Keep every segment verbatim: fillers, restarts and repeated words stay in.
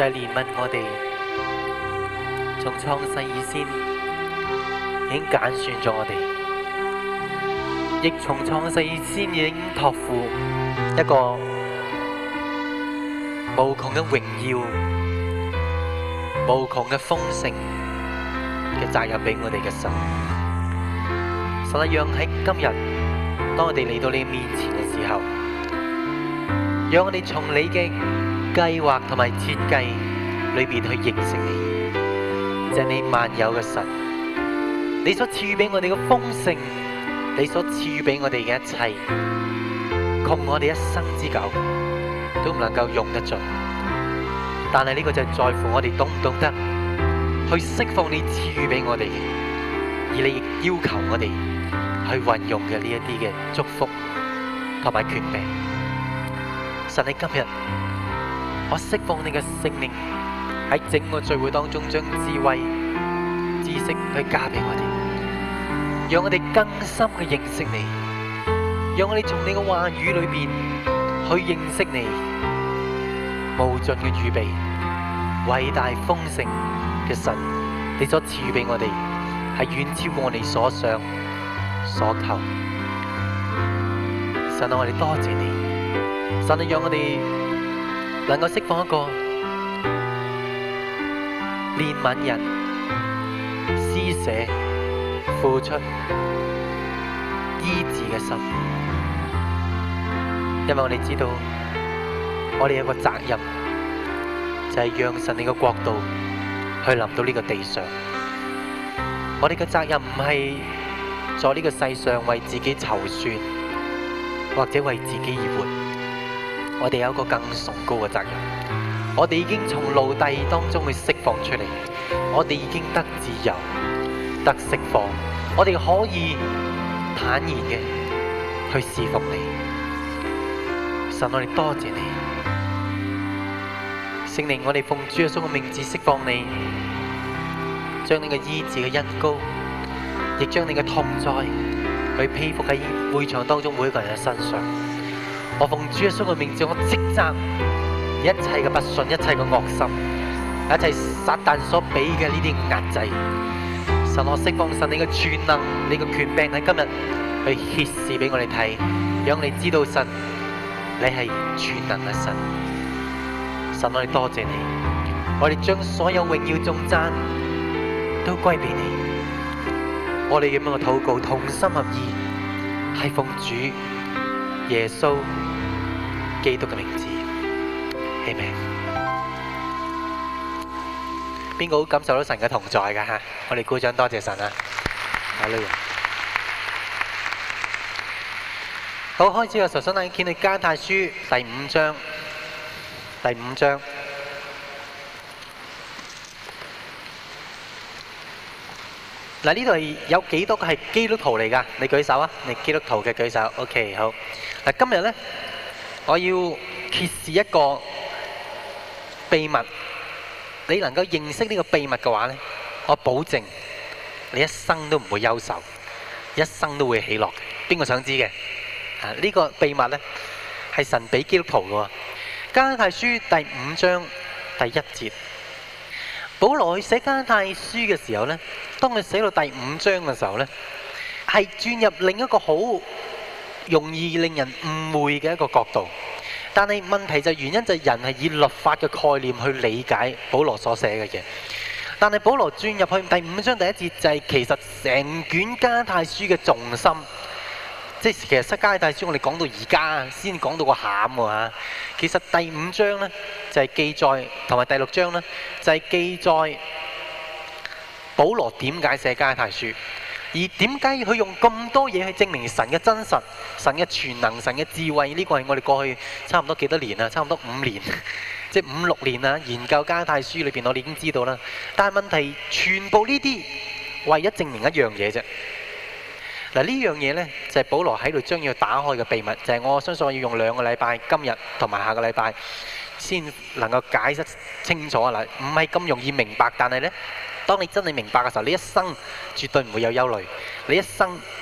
就係憐憫我哋，從創世以先已經揀選咗我哋，亦從創世以先已經託付一個無窮嘅榮耀、無窮嘅豐盛嘅責任俾我哋嘅神。神啊，讓喺今日，當我哋嚟到你面前嘅時候，讓我哋從你嘅計劃同埋設計裏邊去認識你，就係你萬有嘅神，你所賜予俾我哋嘅豐盛，你所賜予俾我哋嘅一切，窮我哋一生之久都唔能夠用得盡。但係呢個就係在乎我哋懂唔懂得去釋放你賜予俾我哋嘅，而你亦要求我哋去運用嘅呢一啲嘅祝福同埋權柄。神喺今日，我釋放你嘅聖靈喺整個聚會當中，將智慧、知識去加俾我哋，讓我哋更深嘅認識你，讓我哋從你嘅話語裏邊去認識你無盡嘅預備、偉大豐盛嘅神，你所賜予俾我哋係遠超過我哋所想所求。神啊，我哋多謝你。神啊，讓我哋能夠釋放一個憐憫人、施捨、付出、醫治嘅心，因為我哋知道，我哋有個責任，就係讓神你嘅國度去臨到呢個地上。我哋嘅責任唔係在呢個世上為自己籌算，或者為自己而活。我哋有一個更崇高嘅責任，我哋已經從奴隸當中去釋放出嚟，我哋已經得自由、得釋放，我哋可以坦然嘅去侍奉你。神，我哋多謝你，聖靈，我哋奉主耶穌嘅名字釋放你，將你嘅醫治嘅恩膏，亦將你嘅同在去披覆喺會場當中每一個人嘅身上。我奉主耶穌嘅名字，我斥責一切嘅不信，一切嘅惡心，一切撒旦所俾嘅呢啲壓制。神，我釋放神你嘅全能，你嘅權柄喺今日去揭示俾我哋睇，讓你知道神你係全能嘅神。神，我哋多謝你，我哋將所有榮耀頌讚都歸俾你。我哋咁樣嘅禱告，同心合意，係奉主耶穌基督嘅名字，阿們。邊個好感受到神嘅同在㗎吓？我哋鼓掌，多謝神啊！哈利路亞。好，開始嘅時候，想帶你見去加拉太書第五章，第五章。嗱，呢度係有幾多個係基督徒嚟㗎？你舉手啊！你基督徒嘅舉手。OK， 好。嗱，今日咧，我要揭示一個秘密。你能夠認識呢個秘密嘅話咧，我保證你一生都唔會憂愁，一生都會喜樂。邊個想知嘅？啊，呢個秘密咧係神俾基督徒嘅喎。加拉太書第五章第一節。保羅去寫加拉太書嘅時候呢，當佢寫到第五章嘅時候呢，係轉入另一個好容易令人誤會嘅一個角度。但係問題就係原因就係人係以律法嘅概念去理解保羅所寫嘅嘢。但係保羅轉入去第五章第一節就係其實成卷加拉太書嘅重心。即係其實《加拉太書》我哋講到而家先講到個餡喎。其實第五章呢，就係記載，同埋第六章呢，就係記載保羅點解寫《加拉太書》，而點解佢用咁多嘢去證明神嘅真實、神嘅全能、神嘅智慧？呢個係我哋過去差唔多幾多年啊？差唔多五年，即係五六年啦。研究《加拉太書》裏邊，我哋已經知道啦。但係問題，全部呢啲唯一證明一樣嘢啫。嗱，呢樣嘢呢，就係保羅喺度將要打開嘅秘密，就係我相信我要用兩個禮拜，今日同埋下個禮拜先能夠解釋清楚啦。唔係咁容易明白，但係呢，當你真係明白嘅時候，你一生絕對唔會有憂慮，你一生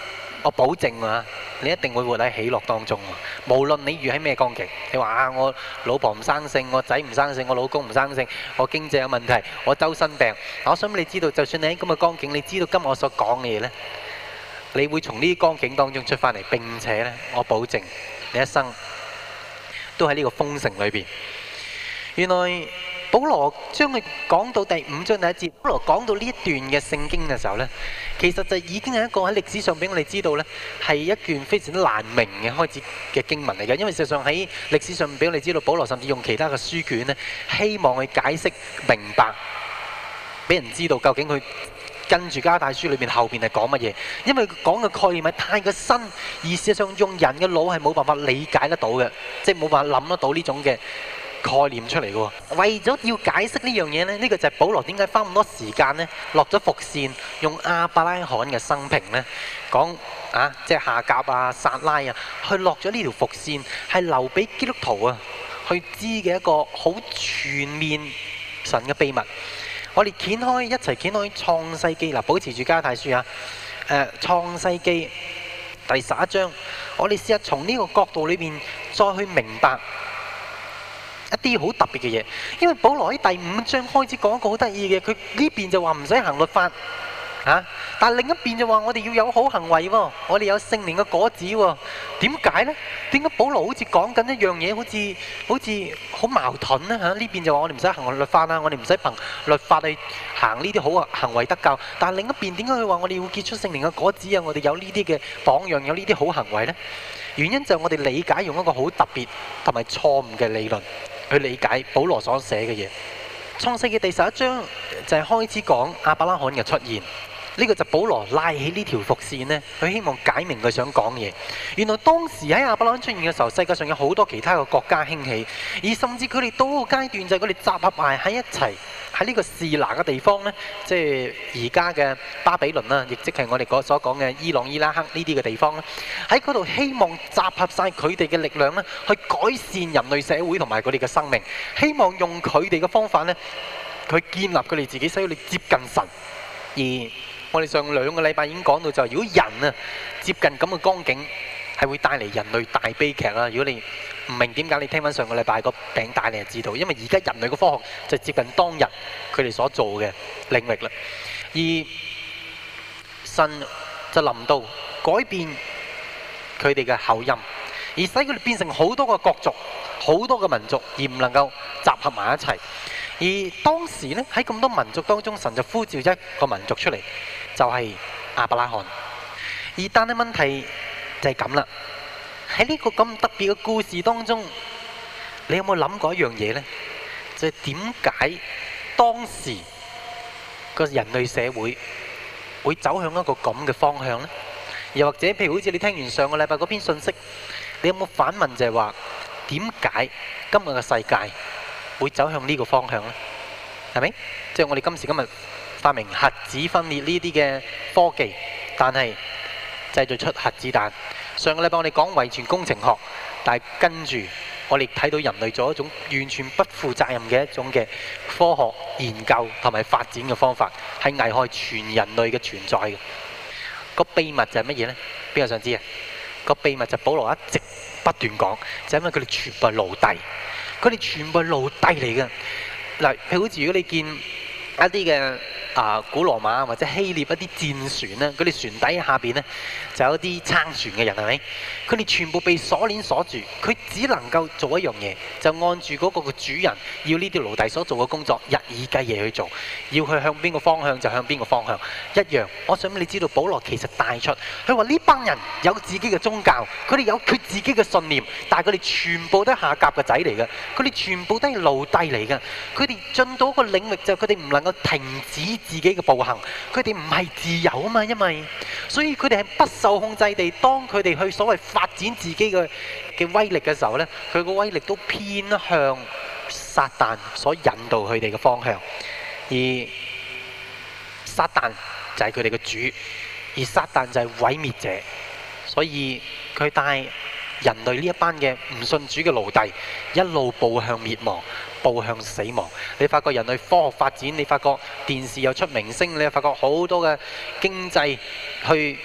我保證啊，你一定會活喺喜樂當中喎。無論你遇喺咩光景，你話啊，我老婆唔生性，我仔唔生性，我老公唔生性，我經濟有問題，我周身病。我想俾你知道，就算你喺咁嘅光景，你知道今日我所講嘅嘢呢，你會從呢啲光景當中出翻嚟，並且呢，我保證你一生都喺呢個豐盛裏邊。原來保羅將佢講到第五章第一節，保羅講到呢一段嘅聖經嘅時候呢，其實就已經係一個喺歷史上俾我哋知道呢，係一段非常之難明嘅開始嘅經文嚟嘅。因為事實上喺歷史上俾我哋知道，保羅甚至用其他嘅書卷呢，希望去解釋明白，俾人知道究竟佢跟住加拉太書裏面後邊係講乜嘢。因為佢講嘅概念係太過新，而事實上用人嘅腦係冇辦法理解得到嘅，即係冇辦法諗得到呢種嘅概念出嚟嘅喎。為咗要解釋呢樣嘢呢，呢、呢個就係保羅點解花咁多時間呢，落咗伏線，用亞伯拉罕嘅生平呢講啊，即係夏甲啊、撒拉啊，去落咗呢條伏線，係留俾基督徒啊去知嘅一個好全面神嘅秘密。我哋掀開一齊掀開創世記嗱，保持住加拉太書啊。誒、呃，創世記第十一章，我哋試下從呢個角度裏邊再去明白一啲好特別嘅嘢。因為保羅喺第五章開始講一個好得意嘅，佢呢邊就話唔使行律法啊，但係另一邊就話我哋要有好行為喎，我哋有聖靈嘅果子喎。點解呢？點解保羅好似講緊一樣嘢，好似好似好矛盾呢？嚇，呢邊就話我哋唔使行律法啦，我哋唔使憑律法去行呢啲好嘅行為得救。但係另一邊點解佢話我哋要結出聖靈嘅果子啊？我哋有呢啲嘅榜樣，有呢啲好行為呢？原因就係我哋理解用一個好特別同埋錯誤嘅理論去理解保羅所寫嘅嘢。創世記第十一章就係開始講亞伯拉罕嘅出現。呢個就保羅拉起呢條伏線呢，佢希望解明佢想講嘅嘢。原來當時喺亞伯拉罕出現嘅時候，世界上有好多其他嘅國家興起，而甚至佢哋到個階段就係佢哋集合埋喺一齊喺呢個示拿嘅地方呢，即係而家嘅巴比倫啦，亦即係我哋所講嘅伊朗、伊拉克呢啲嘅地方咧，喺嗰度希望集合晒佢哋嘅力量呢，去改善人類社會同埋佢哋嘅生命，希望用佢哋嘅方法呢，去建立佢哋自己，使佢哋接近神。而我哋上兩個禮拜已經講到，就係如果人啊接近咁嘅光景，係會帶嚟人類大悲劇啦。如果你唔明點解，你聽翻上個禮拜個餅帶，你就知道。因為而家人類嘅科學就接近當日佢哋所做嘅領域啦。而神就臨到改變佢哋嘅口音，而使佢哋變成好多個國族、好多個民族，而唔能夠集合埋一齊。而當時呢，喺咁多民族當中，神就呼召一個民族出嚟，就係亞伯拉罕。而但係問題就係咁啦，喺呢個咁特別嘅故事當中，你有冇諗過一樣嘢呢？就係點解當時個人類社會會走向一個咁嘅方向呢？又或者譬如好似你聽完上個禮拜嗰篇信息，你有冇反問就係話點解今日嘅世界會走向呢個方向呢？係咪？即係我哋今時今日發明核子分裂呢啲嘅科技，但係製造出核子彈。上個禮拜我哋講遺傳工程學，但係跟住我哋睇到人類做一種完全不負責任嘅一種嘅科學研究同埋發展嘅方法，係危害全人類嘅存在嘅。個秘密就係乜嘢呢？邊個想知啊？個秘密就保羅一直不斷講，就係因為佢哋全部係奴隸。佢哋全部係奴隸嚟嘅。嗱，譬如好似如果你見一啲嘅啊古羅馬或者希臘一啲戰船咧，佢哋船底下邊呢就有啲撐船嘅人，係咪？佢哋全部被鎖鏈鎖住，佢只能夠做一樣嘢，就按住嗰個嘅主人要呢啲奴隸所做嘅工作，日以繼夜去做，要去向邊個方向就向邊個方向一樣。我想你知道，保羅其實帶出佢話呢班人有自己嘅宗教，佢哋有佢自己嘅信念，但係佢哋全部都係夏甲嘅仔嚟嘅，佢哋全部都係奴隸嚟嘅。佢哋進到一個領域就係佢哋唔能夠停止自己嘅步行，佢哋唔係自由啊嘛，因為所以佢哋係不受控制地，當佢哋去所謂發展自己嘅嘅威力嘅時候呢，佢個威力都偏向撒旦所引導佢哋嘅方向，而撒旦就係佢哋嘅主，而撒旦就係毀滅者，所以佢帶人類呢一班嘅唔信主嘅奴隸一路步向滅亡，步向死亡。你發覺人類科學發展，你發覺電視又出明星，你又發覺好多嘅經濟去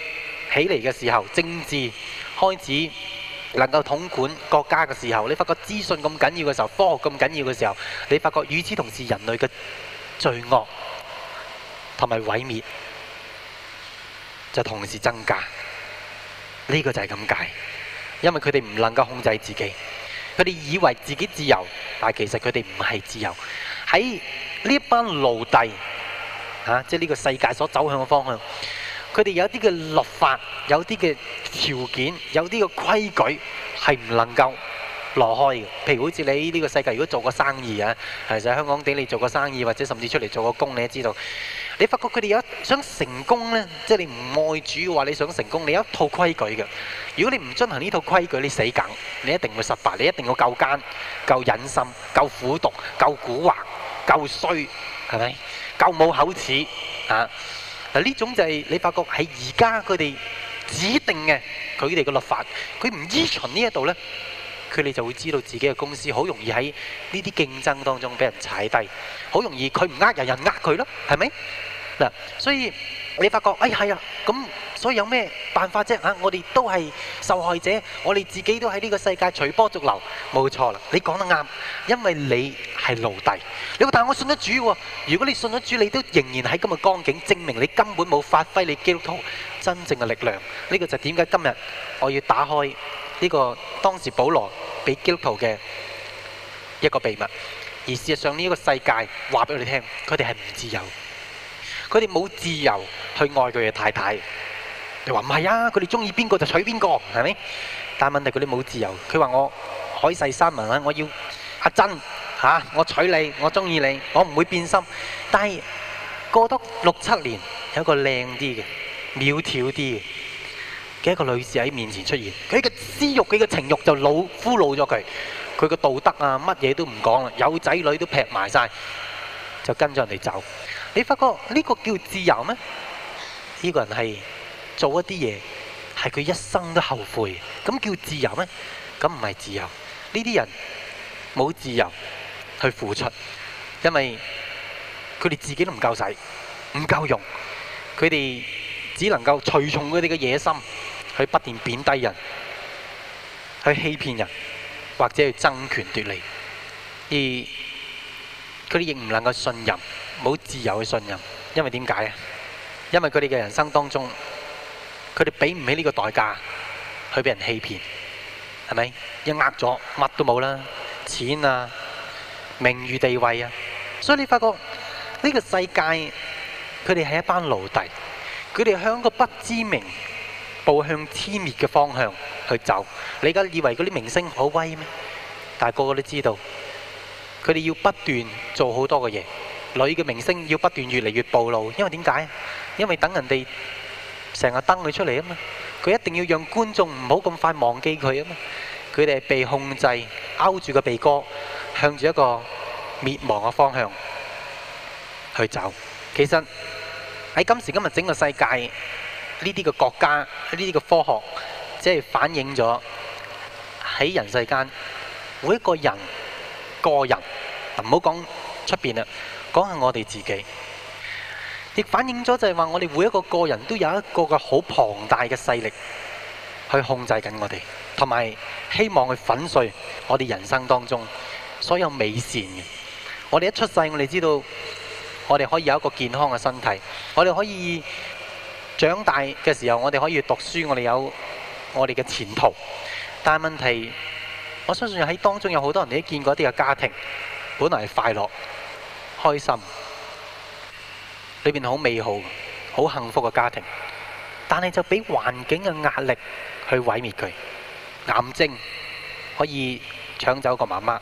起嚟嘅時候，政治開始能夠統管國家嘅時候，你發覺資訊咁緊要嘅時候，科學咁緊要嘅時候，你發覺與此同時人類嘅罪惡同埋毀滅就同時增加。呢個就係咁解，因為佢哋唔能夠控制自己，佢哋以為自己自由，但係其實佢哋唔係自由。喺呢一班奴隸嚇，即係呢個世界所走向嘅方向，佢哋有啲嘅律法，有啲嘅條件，有啲嘅規矩係唔能夠挪開嘅。譬如好似你呢個世界，如果做個生意啊，其實喺香港地你做個生意，或者甚至出嚟做個工，你都知道，你發覺佢哋有一想成功呢，即係你唔愛主嘅話，你想成功，你有一套規矩嘅。如果你唔遵行呢套規矩，你死梗，你一定會失敗，你一定要夠奸、夠忍心、夠苦毒、夠蠱惑、夠衰，係咪？夠冇口齒啊！嗱，呢種就係你發覺喺而家佢哋指定嘅佢哋嘅律法，佢唔依循呢一度呢，佢哋就會知道自己嘅公司好容易喺呢啲競爭當中俾人踩低，好容易佢唔呃人，人呃佢咯，係咪？嗱，所以你發覺，哎係啊，咁所以有咩辦法啫？嚇，我哋都係受害者，我哋自己都喺呢個世界隨波逐流，冇錯啦，你講得啱，因為你係奴隸。你話但係我信咗主喎，如果你信咗主，你都仍然喺咁嘅光景，證明你根本冇發揮你基督徒真正嘅力量。呢個就點解今日我要打開呢個當時保羅俾基督徒嘅一個秘密，而事實上呢一個世界話俾我哋聽，佢哋係唔自由。佢哋冇自由去愛佢嘅太太。你話唔係啊？佢哋中意邊個就娶邊個，係咪？但係問題佢哋冇自由。佢話我海誓山盟啊，我要阿珍嚇，我娶你，我中意你，我唔會變心。但係過多六七年，有一個靚啲嘅、苗條啲嘅嘅一個女士喺面前出現，佢嘅私慾、佢嘅情慾就老俘虜咗佢，佢嘅道德啊乜嘢都唔講啦，有仔女都劈埋晒，就跟咗人哋走。你發覺呢個叫自由咩？呢個人係做一啲嘢係佢一生都後悔，咁叫自由咩？咁唔係自由。呢啲人冇自由去付出，因為佢哋自己都唔夠使，唔夠用，佢哋只能夠隨從佢哋嘅野心，去不斷貶低人，去欺騙人，或者去爭權奪利，而佢哋亦唔能夠信任。冇自由去信任，因為點解啊？因為佢哋嘅人生當中，佢哋俾唔起呢個代價去俾人欺騙，係咪？一呃咗乜都冇啦，錢啊、名譽地位啊，所以你發覺呢個世界佢哋係一班奴隸，佢哋向個不知名步向天滅嘅方向去走。你而家以為嗰啲明星好威咩？但係個個都知道，佢哋要不斷做好多嘅嘢。女嘅明星要不斷越嚟越暴露，因為點解？因為等人哋成日登佢出嚟啊嘛，佢一定要讓觀眾唔好咁快忘記佢啊嘛。佢哋係被控制，勾住個鼻哥，向住一個滅亡嘅方向去走。其實喺今時今日整個世界，呢啲嘅國家，呢啲嘅科學，即係反映咗喺人世間每一個人個人，唔好講出邊啦。講下我哋自己，亦反映咗就係話我哋每一個個人都有一個嘅好龐大嘅勢力去控制緊我哋，同埋希望去粉碎我哋人生當中所有美善嘅。我哋一出世，我哋知道我哋可以有一個健康嘅身體，我哋可以長大嘅時候，我哋可以讀書，我哋有我哋嘅前途。但係問題，我相信喺當中有好多人你都見過一啲嘅家庭，本來係快樂開心，裏邊好美好、好幸福嘅家庭，但係就俾環境嘅壓力去毀滅佢。癌症可以搶走個媽媽，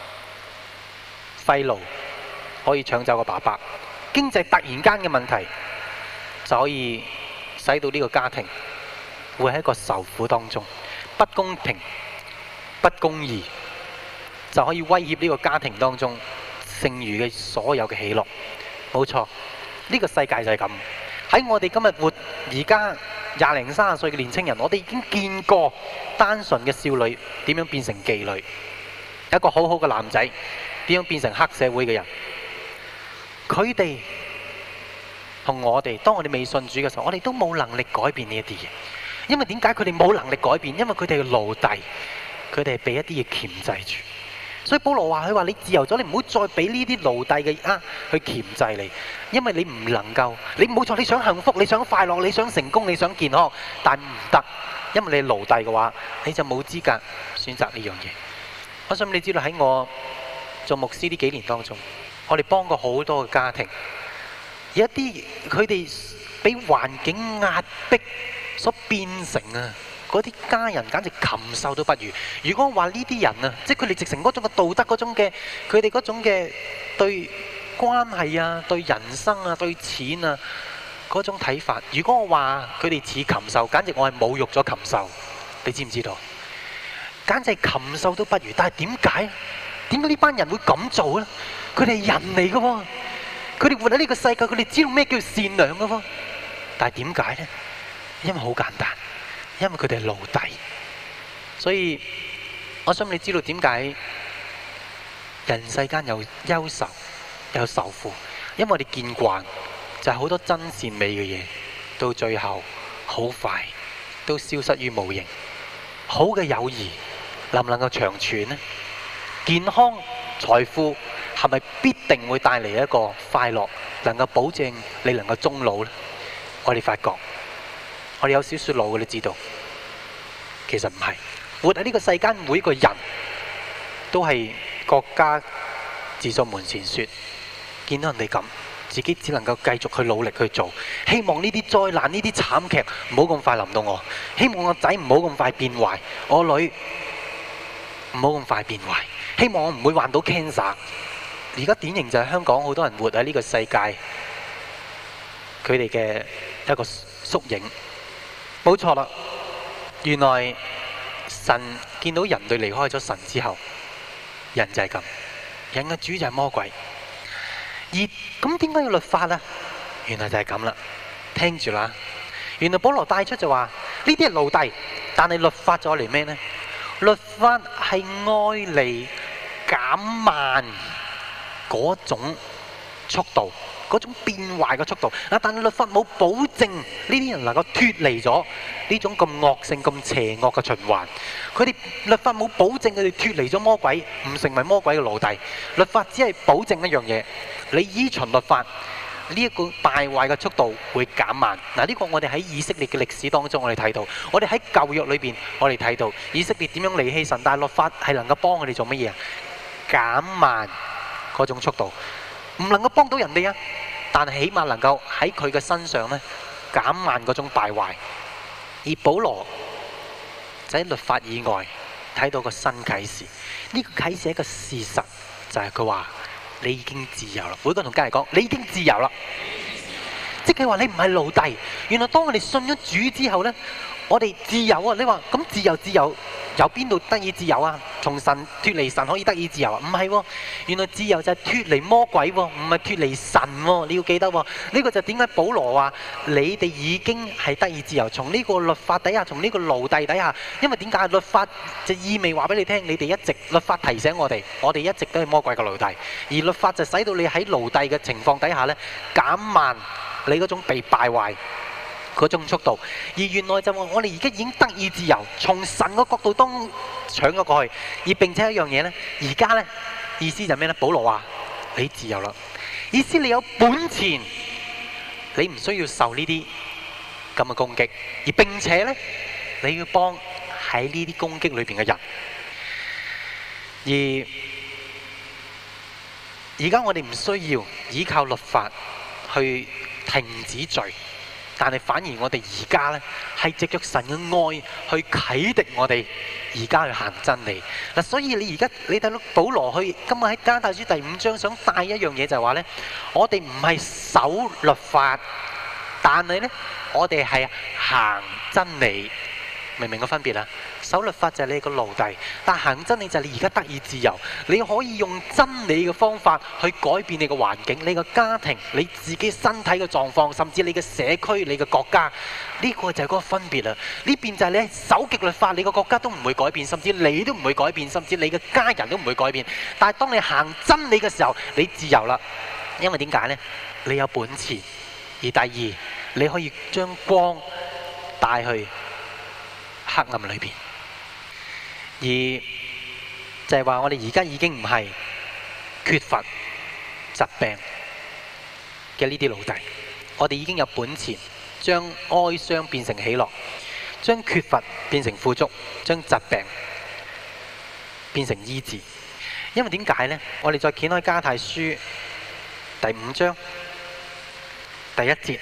肺癆可以搶走個爸爸，經濟突然間嘅問題就可以使到呢個家庭會喺一個受苦當中，不公平、不公義就可以威脅呢個家庭當中剩餘嘅所有嘅喜樂。冇錯，呢個世界就係咁。喺我哋今日活而家廿零三十歲嘅年青人，我哋已經見過單純嘅少女點樣變成妓女，一個好好嘅男仔點樣變成黑社會嘅人。佢哋同我哋，當我哋未信主嘅時候，我哋都冇能力改變呢一啲嘢。因為點解佢哋冇能力改變？因為佢哋係奴隸，佢哋係被一啲嘢鉗制住。所以保羅話：佢話你自由咗，你唔好再俾呢啲奴隸嘅呃去鉗制你，因為你唔能夠，你冇錯，你想幸福，你想快樂，你想成功，你想健康，但唔得，因為你係奴隸嘅話，你就冇資格選擇呢樣嘢。我想你知道喺我做牧師呢幾年當中，我哋幫過好多嘅家庭，有一啲佢哋俾環境壓迫所變成啊，嗰啲家人簡直禽獸都不如。如果話呢啲人啊，即係佢哋直成嗰種嘅道德嗰種嘅，佢哋嗰種嘅對關係啊、對人生啊、對錢啊嗰種睇法，如果我話佢哋似禽獸，簡直我係侮辱咗禽獸。你知唔知道？簡直係禽獸都不如。但係點解？點解呢班人會咁做呢？佢哋係人嚟嘅喎，佢哋活喺呢個世界，佢哋知道咩叫善良嘅喎。但係點解呢？因為好簡單。因為佢哋係奴隸，所以我想你知道點解人世間有憂愁有愁苦，因為我哋見慣就係好多真善美嘅嘢，到最後好快都消失於無形。好嘅友誼能唔能夠長存呢？健康財富係咪必定會帶嚟一個快樂，能夠保證你能夠終老呢？我哋發覺我哋有少少老嘅，你知道，其實唔係。活喺呢個世間，每一個人都係國家自掃門前雪。見到人哋咁，自己只能夠繼續去努力去做。希望呢啲災難、呢啲慘劇唔好咁快臨到我。希望我仔唔好咁快變壞，我女唔好咁快變壞。希望我唔會患到 cancer。而家典型就係香港好多人活喺呢個世界，佢哋嘅一個縮影。冇錯啦，原來神見到人類離開咗神之後，人就係咁，人嘅主就係魔鬼。而咁點解要律法啊？原來就係咁啦，聽住啦。原來保羅帶出就話呢啲係奴隸，但係律法咗嚟咩呢？律法係愛嚟減慢嗰種速度，嗰種變壞嘅速度。但係律法冇保證呢啲人能夠脫離咗呢種咁惡性、咁邪惡嘅循環。佢哋律法冇保證佢哋脫離咗魔鬼，唔成為魔鬼嘅奴隸。律法只係保證一樣嘢，你依循律法，呢一個敗壞嘅速度會減慢。嗱，呢個我哋喺以色列嘅歷史當中，我哋睇到；我哋喺舊約裏邊，我哋睇到以色列點樣離棄神，但係律法係能夠幫佢哋做乜嘢啊？減慢嗰種速度，唔能夠幫到人哋啊，但係起碼能夠喺佢嘅身上咧減慢嗰種敗壞。而保羅就喺律法以外睇到個新啟示，呢個啟示係一個事實，就係佢話你已經自由啦。每個同家人講，你已經自由啦，即係話你唔係奴隸。原來當我哋信咗主之後呢，我哋自由啊！你話咁自由自由由邊度得以自由啊？從神脫離神可以得以自由啊？唔係喎，原來自由就係脫離魔鬼喎，唔係脫離神喎。你要記得喎，呢個就點解保羅話你哋已經係得以自由，從呢個律法底下，從呢個奴隸底下。因為點解律法就意味話俾你聽，你哋一直律法提醒我哋，我哋一直都係魔鬼嘅奴隸，而律法就使到你喺奴隸嘅情況底下呢，減慢你嗰種被敗壞嗰種速度。而原來就話我哋而家已經得以自由，從神嘅角度當搶咗過去。而並且一樣嘢呢，而家呢意思就咩呢？保羅話你自由啦，意思你有本錢，你唔需要受呢啲咁嘅攻擊，而並且呢你要幫喺呢啲攻擊裏邊嘅人。而而家我哋唔需要依靠律法去停止罪，但係反而我哋而家呢係藉着神嘅愛去啟迪我哋而家去行真理嗱。所以你而家你睇到保羅去今日喺加拉太書第五章想帶一樣嘢，就係話呢，我哋唔係守律法，但係呢我哋係行真理。明唔明個分別啊？守律法就係你個奴隸，但行真理就係你而家得以自由。你可以用真理嘅方法去改變你嘅環境、你嘅家庭、你自己身體嘅狀況，甚至你嘅社區、你嘅國家。呢個就係嗰個分別啦。呢邊就係你守極律法，你個國家都唔會改變，甚至你都唔會改變，甚至你嘅家人都唔會改變。但係當你行真理嘅時候，你自由啦。因為點解呢？你有本錢。而而第二，你可以將光帶去黑暗裏邊。而就係話，我哋而家已經唔係缺乏疾病嘅呢啲奴隸，我哋已經有本錢將哀傷變成喜樂，將缺乏變成富足，將疾病變成醫治。因為點解呢？我哋再掀開加太書第五章第一節，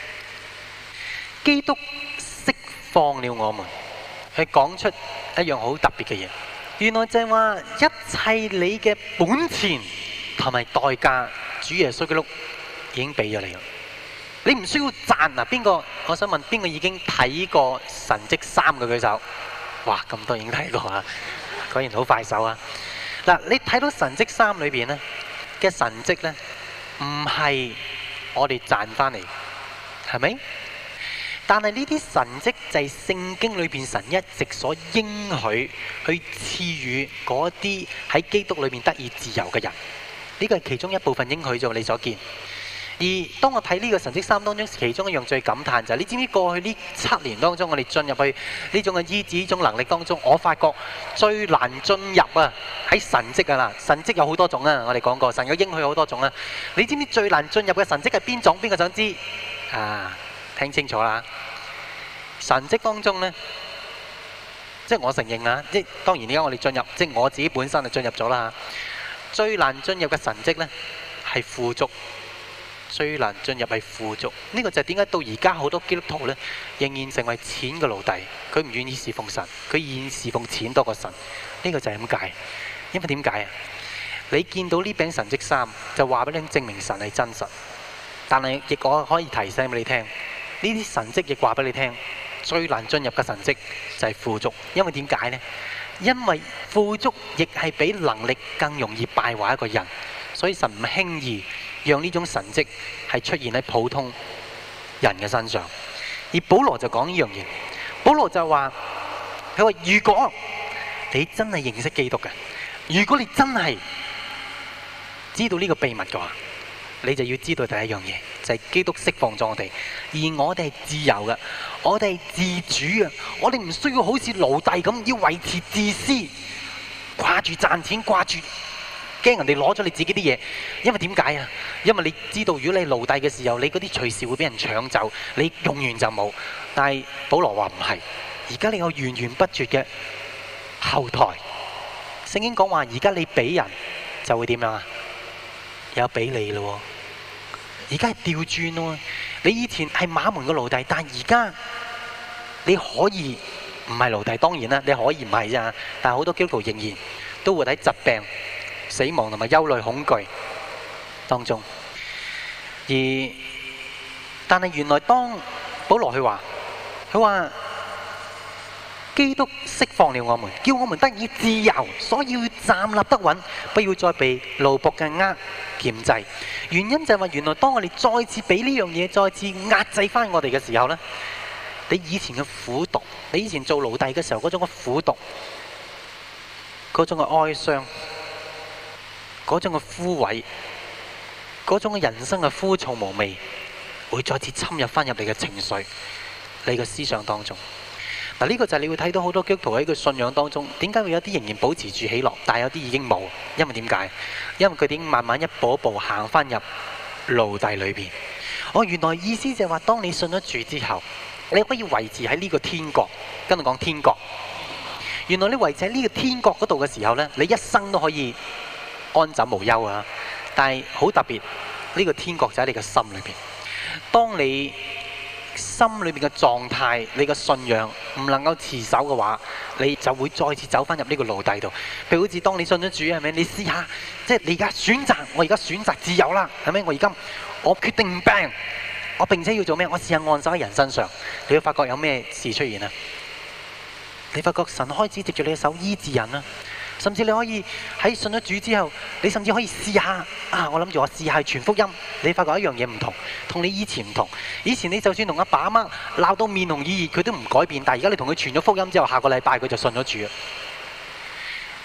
基督釋放了我們，去講出一樣好特別嘅嘢。原來就係話一切你嘅本錢同埋代價，主耶穌基督已經俾咗你啦。你唔需要賺啊！邊個？我想問邊個已經睇過神蹟三嘅舉手？哇！咁多已經睇過啊！果然好快手啊！嗱，你睇到神蹟三裏邊咧嘅神蹟咧，唔係我哋賺翻嚟，係咪？但係呢啲神蹟就係聖經裏邊神一直所應許去賜予嗰啲喺基督裏面得以自由嘅人。呢個係其中一部分應許咗你所見。而當我睇呢個神蹟三當中，其中一樣最感嘆就係，你知唔知過去呢七年當中，我哋進入去呢種嘅醫治呢種能力當中，我發覺最難進入啊喺神蹟啊嗱，神蹟有好多種啊，我哋講過，神有應許好多種啊。你知唔知最難進入嘅神蹟係邊種？邊個想知啊？聽清楚啦！神蹟當中呢，即係我承認啊，即係當然而家我哋進入，即係我自己本身就進入咗啦。最難進入嘅神蹟呢係富足。最難進入係富足，呢個就係點解到而家好多基督徒呢仍然成為錢嘅奴隸，佢唔願意侍奉神，佢願意侍奉錢多過神。呢個就係咁解。因為點解啊？你見到呢餅神蹟三，就話俾你證明神係真實。但係亦我可以提醒俾你聽，呢啲神蹟亦話俾你聽，最難進入嘅神蹟就係富足。因為點解呢？因為富足亦係比能力更容易敗壞一個人，所以神唔輕易讓呢種神蹟係出現喺普通人嘅身上。而保羅就講呢樣嘢，保羅就話：佢話如果你真係認識基督嘅，如果你真係知道呢個秘密嘅話，你就要知道第一樣嘢，就係基督釋放咗我哋，而我哋係自由嘅，我哋係自主嘅，我哋唔需要好似奴隸咁要維持自私，掛住賺錢，掛住驚人哋攞咗你自己啲嘢。因為點解啊？因為你知道，如果你係奴隸嘅時候，你嗰啲隨時會俾人搶走，你用完就冇。但係保羅話唔係，而家你有源源不絕嘅後台。聖經講話，而家你俾人就會點樣啊？有俾你咯。而家係調轉咯。你以前係馬門嘅奴隸，但係而家你可以唔係奴隸。當然啦，你可以唔係啫。但係好多基督徒仍然都會喺疾病、死亡同埋憂慮、恐懼當中。而但係原來當保羅佢話，佢話基督釋放了我們，叫我們得以自由，所以要站立得穩，不要再被奴僕嘅軛鉗制。原因就係話，原來當我哋再次俾呢樣嘢再次壓制翻我哋嘅時候呢，你以前嘅苦毒，你以前做奴隸嘅時候嗰種嘅苦毒，嗰種嘅哀傷，嗰種嘅枯萎，嗰種嘅人生嘅枯燥無味，會再次侵入翻入你嘅情緒、你嘅思想當中。嗱，呢個就係你會睇到好多基督徒喺佢信仰當中，點解會有啲仍然保持住喜樂，但係有啲已經冇？因為點解？因為佢哋已經慢慢一步一步行翻入奴隸裏邊。哦，原來意思就係話，當你信咗主之後，你可以維持喺呢個天國。跟住講天國。原來你維持喺呢個天國嗰度嘅時候呢，你一生都可以安枕無憂啊！但係好特別，呢個天國就喺你嘅心裏邊。當你心裏面嘅狀態，你嘅信仰唔能夠持守嘅話，你就會再次走翻入呢個奴隸度。譬如好似當你信咗主，係咪？你試下，即係你而家選擇，我而家選擇自由啦，係咪？我而家我決定唔病，我並且要做咩？我試下按手喺人身上，你會發覺有咩事出現啊？你發覺神開始藉住你嘅手醫治人啦。甚至你可以喺信咗主之後，你甚至可以試下啊！我諗住我試下傳福音，你發覺一樣嘢唔同，同你以前唔同。以前你就算同阿爸阿媽鬧到面紅耳熱，佢都唔改變。但係而家你同佢傳咗福音之後，下個禮拜佢就信咗主。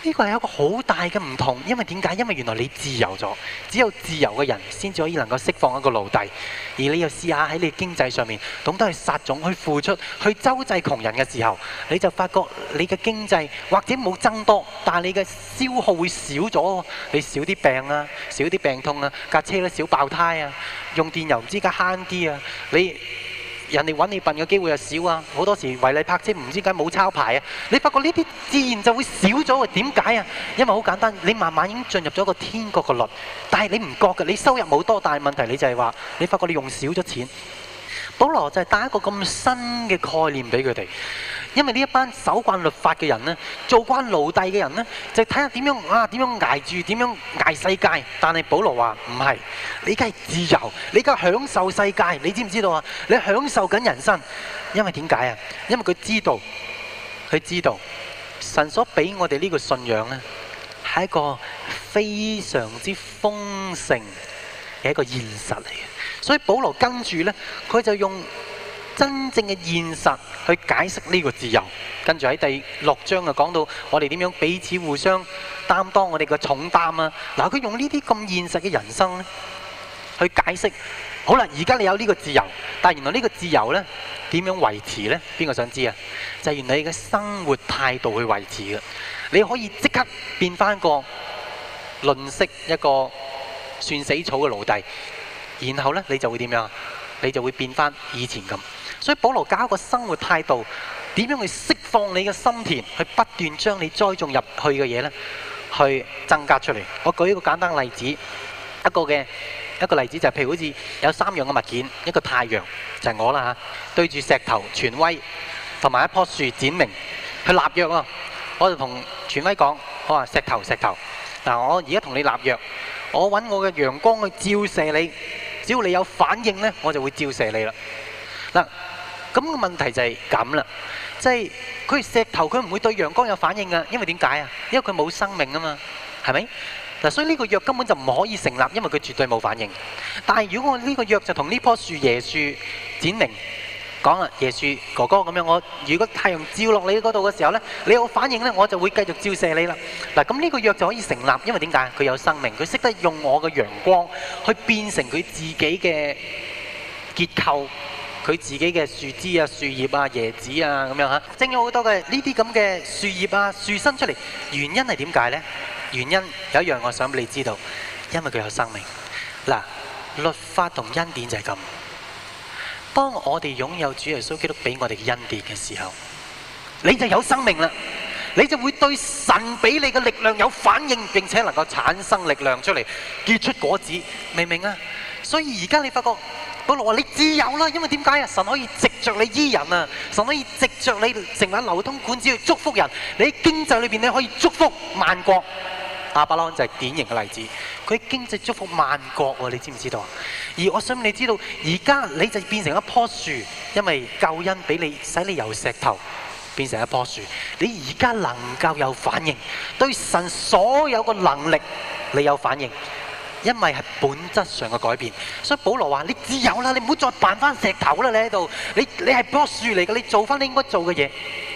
呢個係一個好大嘅唔同，因為點解？因為原來你自由咗，只有自由嘅人先至可以能夠釋放一個奴隸。而你又試下喺你經濟上面懂得去撒種、去付出、去周濟窮人嘅時候，你就發覺你嘅經濟或者冇增多，但係你嘅消耗會少咗。你少啲病啊，少啲病痛啊，架車咧少爆胎啊，用電油唔知家慳啲啊，你。人哋揾你笨嘅機會又少啊！好多時違例泊車唔知點解冇抄牌啊！你發覺呢啲自然就會少咗啊！點解啊？因為好簡單，你慢慢已經進入咗一個天國嘅律，但係你唔覺嘅，你收入冇多，但係問題你就係話，你發覺你用少咗錢。保羅就係帶一個咁新嘅概念俾佢哋，因為呢一班守慣律法嘅人呢，做慣奴隸嘅人呢，就睇下點樣啊，點樣捱住，點樣捱世界。但係保羅話唔係，你而家係自由，你而家享受世界，你知唔知道啊？你享受緊人生，因為點解啊？因為佢知道，佢知道神所俾我哋呢個信仰呢，係一個非常之豐盛嘅一個現實嚟嘅。所以保羅跟住呢，佢就用真正嘅現實去解釋呢個自由。跟住喺第六章就講到我哋點樣彼此互相擔當我哋嘅重擔啊！嗱，佢用呢啲咁現實嘅人生呢，去解釋。好啦，而家你有呢個自由，但係原來呢個自由呢，點樣維持呢？邊個想知啊？就係原來你嘅生活態度去維持嘅。你可以即刻變翻個吝嗇一個算死草嘅奴隸。然後呢，你就會點樣？你就會變翻以前咁。所以保羅教一個生活態度，點樣去釋放你嘅心田，去不斷將你栽種入去嘅嘢呢，去增加出嚟。我舉一個簡單例子，一個嘅一個例子就係譬如好似有三樣嘅物件，一個太陽就係我啦嚇，對住石頭權威，同埋一棵樹展明去立約啊！我就同權威講：我話石頭石頭，嗱，我而家同你立約，我揾我嘅陽光去照射你。只要你有反應呢，我就會照射你啦。嗱，咁個問題就係咁啦，即係佢係石頭，佢唔會對陽光有反應噶，因為點解啊？因為佢冇生命啊嘛，係咪？嗱，所以呢個約根本就唔可以成立，因為佢絕對冇反應。但係如果我呢個約就同呢棵樹椰樹展明講啦，椰樹哥哥咁樣，我如果太陽照落你嗰度嘅時候呢，你有反應呢，我就會繼續照射你啦。嗱，咁呢個約就可以成立，因為點解？佢有生命，佢識得用我嘅陽光去變成佢自己嘅結構，佢自己嘅樹枝啊、樹葉啊、椰子啊咁樣嚇，整咗好多嘅呢啲咁嘅樹葉啊、樹身出嚟。原因係點解呢？原因有一樣我想俾你知道，因為佢有生命。嗱，律法同恩典就係咁。當我哋擁有主耶穌基督俾我哋嘅恩典嘅時候，你就有生命啦，你就會對神俾你嘅力量有反應，並且能夠產生力量出嚟，結出果子，明唔明啊？所以而家你發覺保羅話你自由啦，因為點解啊？神可以藉着你醫人啊，神可以藉着你成為流通管子去祝福人，你喺經濟裏邊你可以祝福萬國。亞伯拉罕就係典型嘅例子，佢經濟祝福萬國喎，你知唔知道啊？而我想你知道，而家你就變成一棵樹，因為救恩俾你，使你由石頭變成一棵樹。你而家能夠有反應，對神所有嘅能力你有反應，因為係本質上嘅改變。所以保羅話：你自由啦，你唔好再扮翻石頭啦，你喺度，你你係棵樹嚟嘅，你做翻你應該做嘅嘢。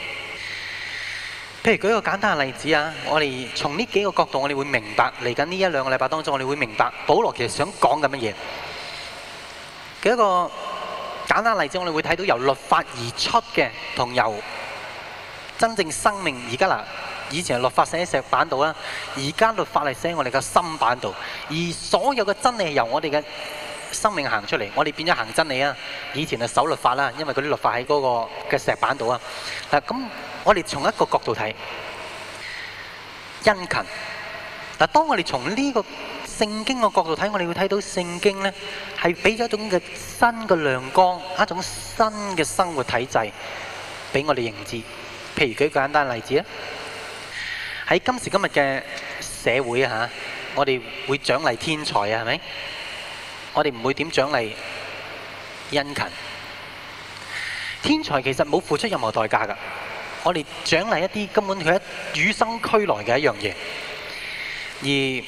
譬如舉一個簡單嘅例子啊，我哋從呢幾個角度，我哋會明白嚟緊呢一兩個禮拜當中，我哋會明白保羅其實想講緊乜嘢。舉一個簡單例子，我哋會睇到由律法而出嘅，同由真正生命。而家嗱，以前係律法寫喺石板度啦，而家律法係寫喺我哋嘅心板度，而所有嘅真理係由我哋嘅生命行出嚟，我哋變咗行真理啊！以前係守律法啦，因為嗰啲律法喺嗰個嘅石板度啊。嗱，咁我哋從一個角度睇殷勤。嗱，當我哋從呢個聖經嘅角度睇，我哋會睇到聖經呢係俾咗一種嘅新嘅亮光，一種新嘅生活體制俾我哋認知。譬如舉個簡單例子啊，喺今時今日嘅社會啊嚇，我哋會獎勵天才啊，係咪？我哋唔會點獎勵殷勤。天才其實冇付出任何代價㗎，我哋獎勵一啲根本佢一與生俱來嘅一樣嘢。而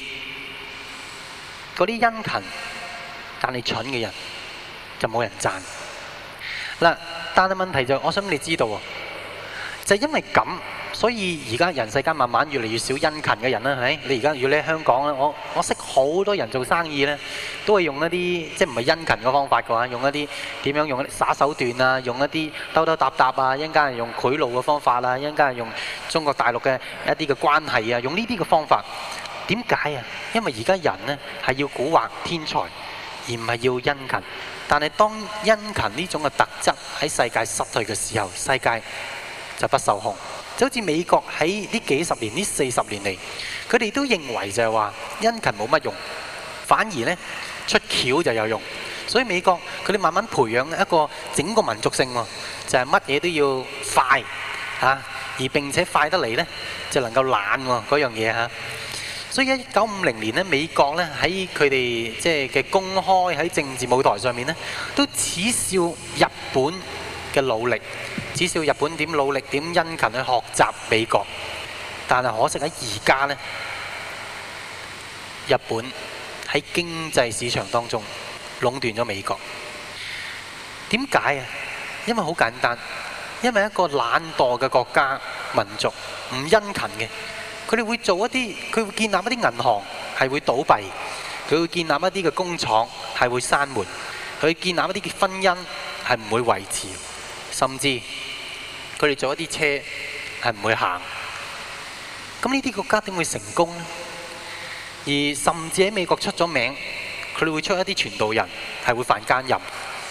嗰啲殷勤但係蠢嘅人就冇人讚。嗱，但係問題就係，我想你知道喎，就係因為咁， 所以而家人世間慢慢越嚟越少殷勤嘅人啦，係咪？你而家如果你喺香港咧，我我識好多人做生意咧，都係用一啲即係唔係殷勤嘅方法嘅話，用一啲點樣用一啲耍手段啊，用一啲兜兜搭搭啊，一陣間係用賄賂嘅方法啊，一陣間係用中國大陸嘅一啲嘅關係啊，用呢啲嘅方法。點解啊？因為而家人呢係要蠱惑天才，而唔係要殷勤。但係當殷勤呢種嘅特質喺世界失去嘅時候，世界就不受控。就好似美國喺呢幾十年、呢四十年嚟，佢哋都認為就係話殷勤冇乜用，反而呢出橋就有用。所以美國佢哋慢慢培養一個整個民族性喎，就係乜嘢都要快嚇，而並且快得嚟呢就能夠懶喎嗰樣嘢嚇。所以一九五零年咧，美國咧喺佢哋即係嘅公開喺政治舞台上面咧，都恥笑日本嘅努力，恥笑日本點努力點殷勤去學習美國。但係可惜喺而家咧，日本喺經濟市場當中壟斷咗美國。點解啊？因為好簡單，因為一個懶惰嘅國家民族唔殷勤嘅。佢哋會做一啲，佢會建立一啲銀行係會倒閉，佢會建立一啲嘅工廠係會閂門，佢會建立一啲嘅婚姻係唔會維持，甚至佢哋做一啲車係唔會行。咁呢啲國家點會成功呢？而甚至喺美國出咗名，佢哋會出一啲傳道人係會犯奸淫。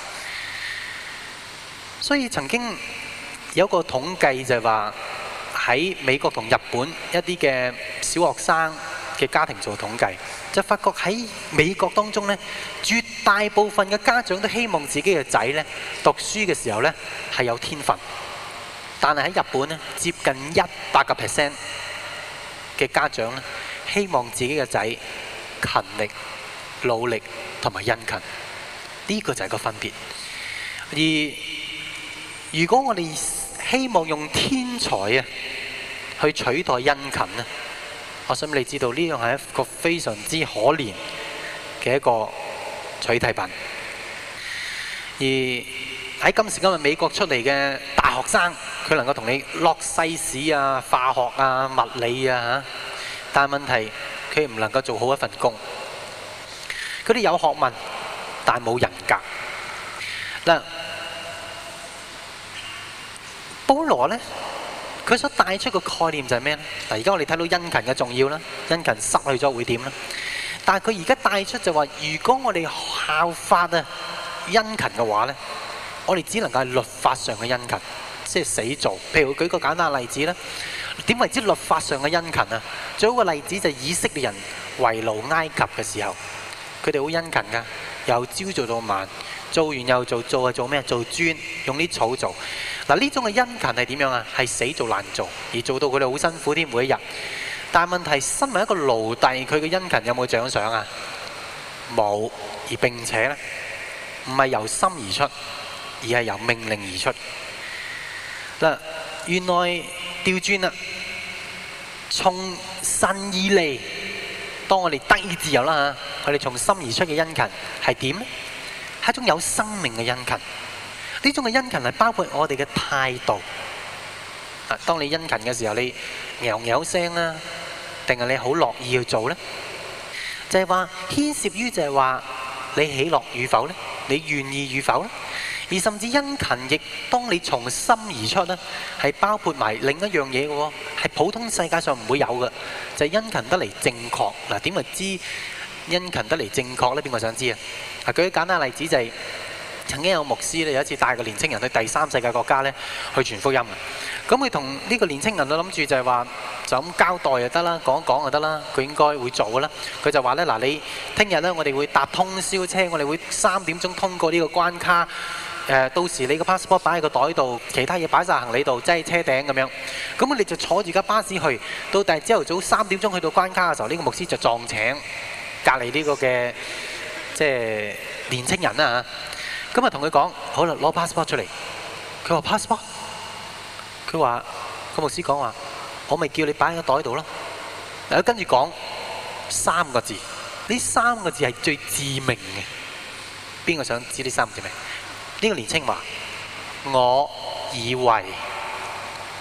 所以曾經有個統計就係話，喺美國同日本一啲嘅小學生嘅家庭做統計，就發覺喺美國當中呢，絕大部分嘅家長都希望自己嘅仔呢讀書嘅時候呢係有天分，但係喺日本呢，接近一百個 percent 嘅家長呢希望自己嘅仔勤力、努力同埋殷勤，呢個就係個分別。而如果我哋希望用天才啊去取代殷勤咧，我想你知道呢樣係一個非常之可憐嘅一個取替品。而喺今時今日美國出嚟嘅大學生，佢能夠同你落西史啊、化學啊、物理啊，但係問題佢唔能夠做好一份工。佢哋有學問，但係冇人格。嗱，保羅呢，佢所帶出個概念就係咩呢？嗱，而家我哋睇到殷勤嘅重要啦，殷勤失去咗會點呢？但係佢而家帶出就話，如果我哋效法啊殷勤嘅話呢，我哋只能夠係律法上嘅殷勤，即係死做。譬如舉個簡單嘅例子啦，點為之律法上嘅殷勤啊？最好個例子就係以色列人為奴埃及嘅時候，佢哋好殷勤㗎，由朝做到晚，做完又做，做係做咩？做磚，用啲草做。嗱，呢種嘅殷勤係點樣啊？係死做爛做，而做到佢哋好辛苦添，每一日。但係問題，身為一個奴隸，佢嘅殷勤有冇獎賞啊？冇。而並且呢，唔係由心而出，而係由命令而出。嗱，原來調轉啦，從神而嚟，當我哋得以自由啦嚇，我哋從心而出嘅殷勤係點呢？係一種有生命嘅殷勤。呢種嘅殷勤係包括我哋嘅態度。啊，當你殷勤嘅時候，你喵喵聲啦，定係你好樂意去做呢？就係話牽涉於就係話你喜樂與否呢？你願意與否呢？而甚至殷勤亦當你從心而出呢，係包括埋另一樣嘢嘅喎，係普通世界上唔會有嘅，就係殷勤得嚟正確。嗱，點為之殷勤得嚟正確呢？邊個想知啊？啊，舉個簡單例子就係。曾經有牧師咧，有一次帶個年青人去第三世界國家咧，去傳福音嘅。咁佢同呢個年青人都諗住就係話，就咁交代就得啦，講一講就得啦。佢應該會做嘅啦。佢就話咧：嗱，你聽日咧，我哋會搭通宵車，我哋會三點鐘通過呢個關卡。誒，到時你個 passport 擺喺個袋度，其他嘢擺晒行李度，擠喺車頂咁樣。咁我哋就坐住架巴士去，到第二朝頭早三點鐘去到關卡嘅時候，呢個牧師就撞請隔離呢個嘅即係年青人啦嚇。咁啊，同佢講好啦，攞 passport 出嚟。佢話 passport， 佢話個牧師講話，我咪叫你擺喺個袋度咯。嗱，跟住講三個字，呢三個字係最致命嘅。邊個想知呢三個字咩？呢個年青話：我以為，好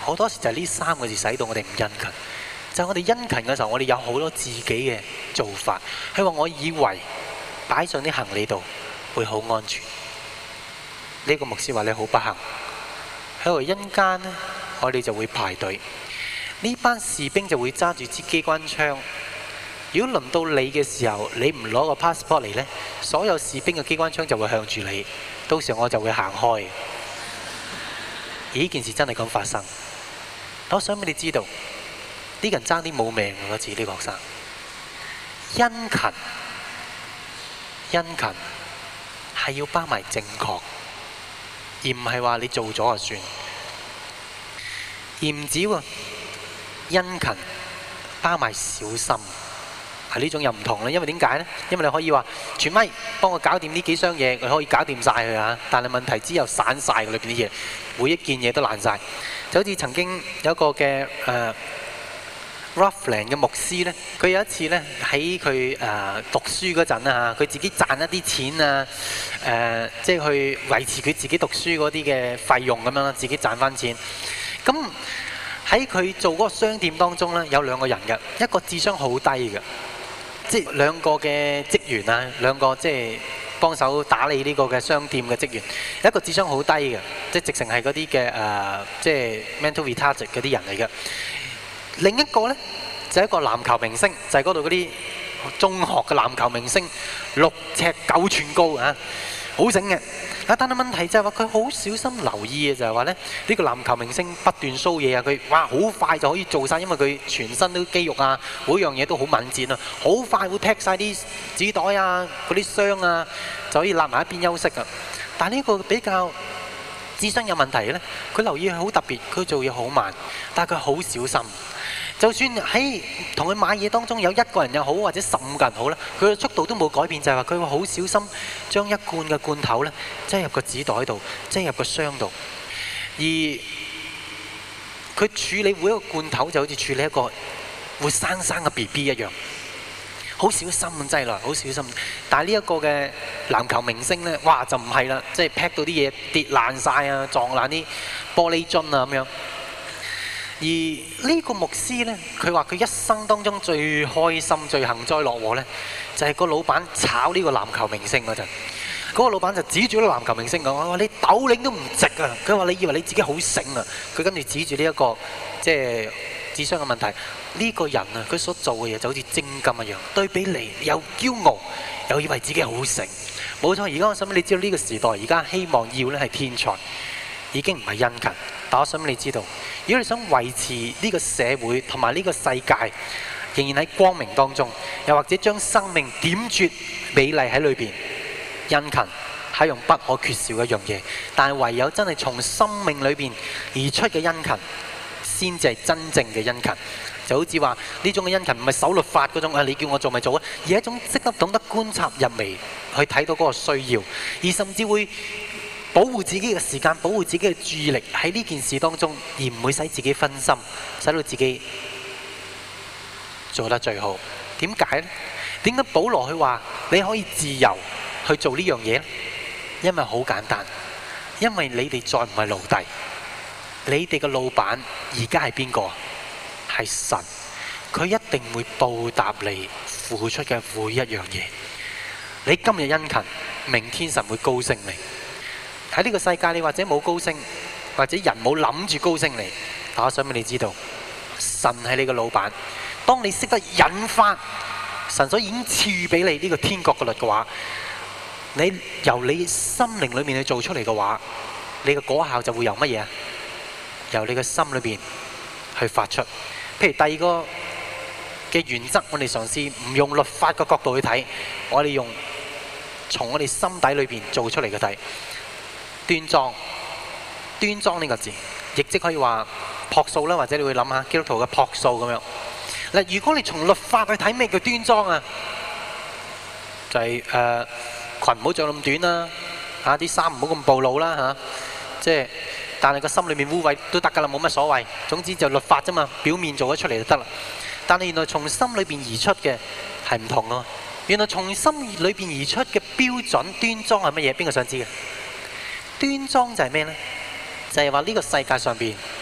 好多時就係呢三個字使到我哋唔殷勤。就係我哋殷勤嘅時候，我哋有好多自己嘅做法。佢話：我以為擺上啲行李度會好安全。呢個牧師話你好不幸。喺度因間呢，我哋就會排隊。呢班士兵就會揸住支機關槍。如果輪到你嘅時候，你唔攞個 passport 嚟呢，所有士兵嘅機關槍就會向住你。到時候我就會行開。而呢件事真係咁發生。我想俾你知道。呢個人爭啲冇命嗰次，呢個學生殷勤，殷勤係要包埋正確，而唔係話你做咗就算。而唔止喎，殷勤包埋小心，係呢種又唔同啦。因為點解呢？因為你可以話全咪幫我搞掂呢幾箱嘢，佢可以搞掂晒佢啊。但係問題之後散晒裏邊啲嘢，每一件嘢都爛晒。就好似曾經有一個嘅誒。呃 Ruffland 嘅牧師呢，佢有一次呢喺佢誒讀書嗰陣啊，佢自己賺一啲錢啊，誒、呃、即係去維持佢自己讀書嗰啲嘅費用咁樣啦，自己賺翻錢。咁喺佢做嗰個商店當中呢，有兩個人嘅，一個智商好低嘅，即係兩個嘅職員啊，兩個即係幫手打理呢個嘅商店嘅職員，一個智商好低嘅，即係直情係嗰啲嘅誒，即係 mental retarded 嗰啲人嚟嘅。另一個呢，就係、一個籃球明星，就係嗰度嗰啲中學嘅籃球明星，六尺九寸高啊，好醒嘅。但係問題就係話佢好小心留意嘅，就係話咧呢、呢個籃球明星不斷 show 嘢啊，佢哇好快就可以做晒，因為佢全身都肌肉啊，每樣嘢都好敏捷啊，好快會劈晒啲紙袋啊、嗰啲箱啊，就可以立埋一邊休息啊。但係呢個比較智商有問題呢，佢留意佢好特別，佢做嘢好慢，但係佢好小心。就算喺同佢買嘢當中有一個人又好，或者十五個人好啦，佢嘅速度都冇改變，就係話佢會好小心將一罐嘅罐頭咧擠入個紙袋度，擠入個箱度。而佢處理每一個罐頭就好似處理一個活生生嘅 B B 一樣，好小心咁擠落，好小心。但係呢一個嘅籃球明星咧，哇就唔係啦，即係劈到啲嘢跌爛晒啊，撞爛啲玻璃樽啊咁樣。而呢個牧師呢，佢話佢一生當中最開心、最幸災樂禍呢，就係、是、個老闆炒呢個籃球明星嗰陣，嗰、那個老闆就指住個籃球明星講：我話你斗領都唔值啊！佢話你以為你自己好醒啊？佢跟住指住呢一個即係智商嘅問題，呢、這個人啊，佢所做嘅嘢就好似精金一樣，對比嚟又驕傲，又以為自己好醒。冇錯，而家我想俾你知道呢個時代，而家希望要呢係天才，已經唔係殷勤。但我想俾你知道，如果你想維持呢個社會同埋呢個世界仍然喺光明當中，又或者將生命點綴美麗喺裏邊，殷勤係用不可缺少嘅一樣嘢。但係唯有真係從生命裏邊而出嘅殷勤，先至係真正嘅殷勤。就好似話呢種嘅殷勤唔係守律法嗰種啊，你叫我做咪做啊，而係一種識得懂得觀察入微去睇到嗰個需要，而甚至會保護自己嘅時間，保護自己嘅注意力喺呢件事當中，而唔會使自己分心，使到自己做得最好。點解呢？點解保羅佢話你可以自由去做呢樣嘢呢？因為好簡單，因為你哋再唔係奴隸，你哋嘅老闆而家係邊個？係神，佢一定會報答你付出嘅每一樣嘢。你今日殷勤，明天神會高升你。喺呢個世界，你或者冇高升，或者人冇諗住高升你。但我想俾你知道，神係你嘅老闆。當你識得引發神所已經賜予俾你呢個天國嘅律嘅話，你由你心靈裏面去做出嚟嘅話，你嘅果效就會由乜嘢啊？由你嘅心裏邊去發出。譬如第二個嘅原則，我哋嘗試唔用律法嘅角度去睇，我哋用從我哋心底裏邊做出嚟嘅睇。端莊，端莊呢個字，亦即可以話樸素啦，或者你會諗下基督徒嘅樸素咁樣。嗱，如果你從律法去睇咩叫端莊啊，就係誒裙唔好着咁短啦，嚇啲衫唔好咁暴露啦嚇，即係但係個心裏面污穢都得㗎啦，冇乜所謂。總之就律法啫嘛，表面做咗出嚟就得啦。但係原來從心裏邊而出嘅係唔同咯。原來從心裏邊而出嘅標準端莊係乜嘢？邊個想知嘅？端莊就係咩呢？就係話呢個世界上邊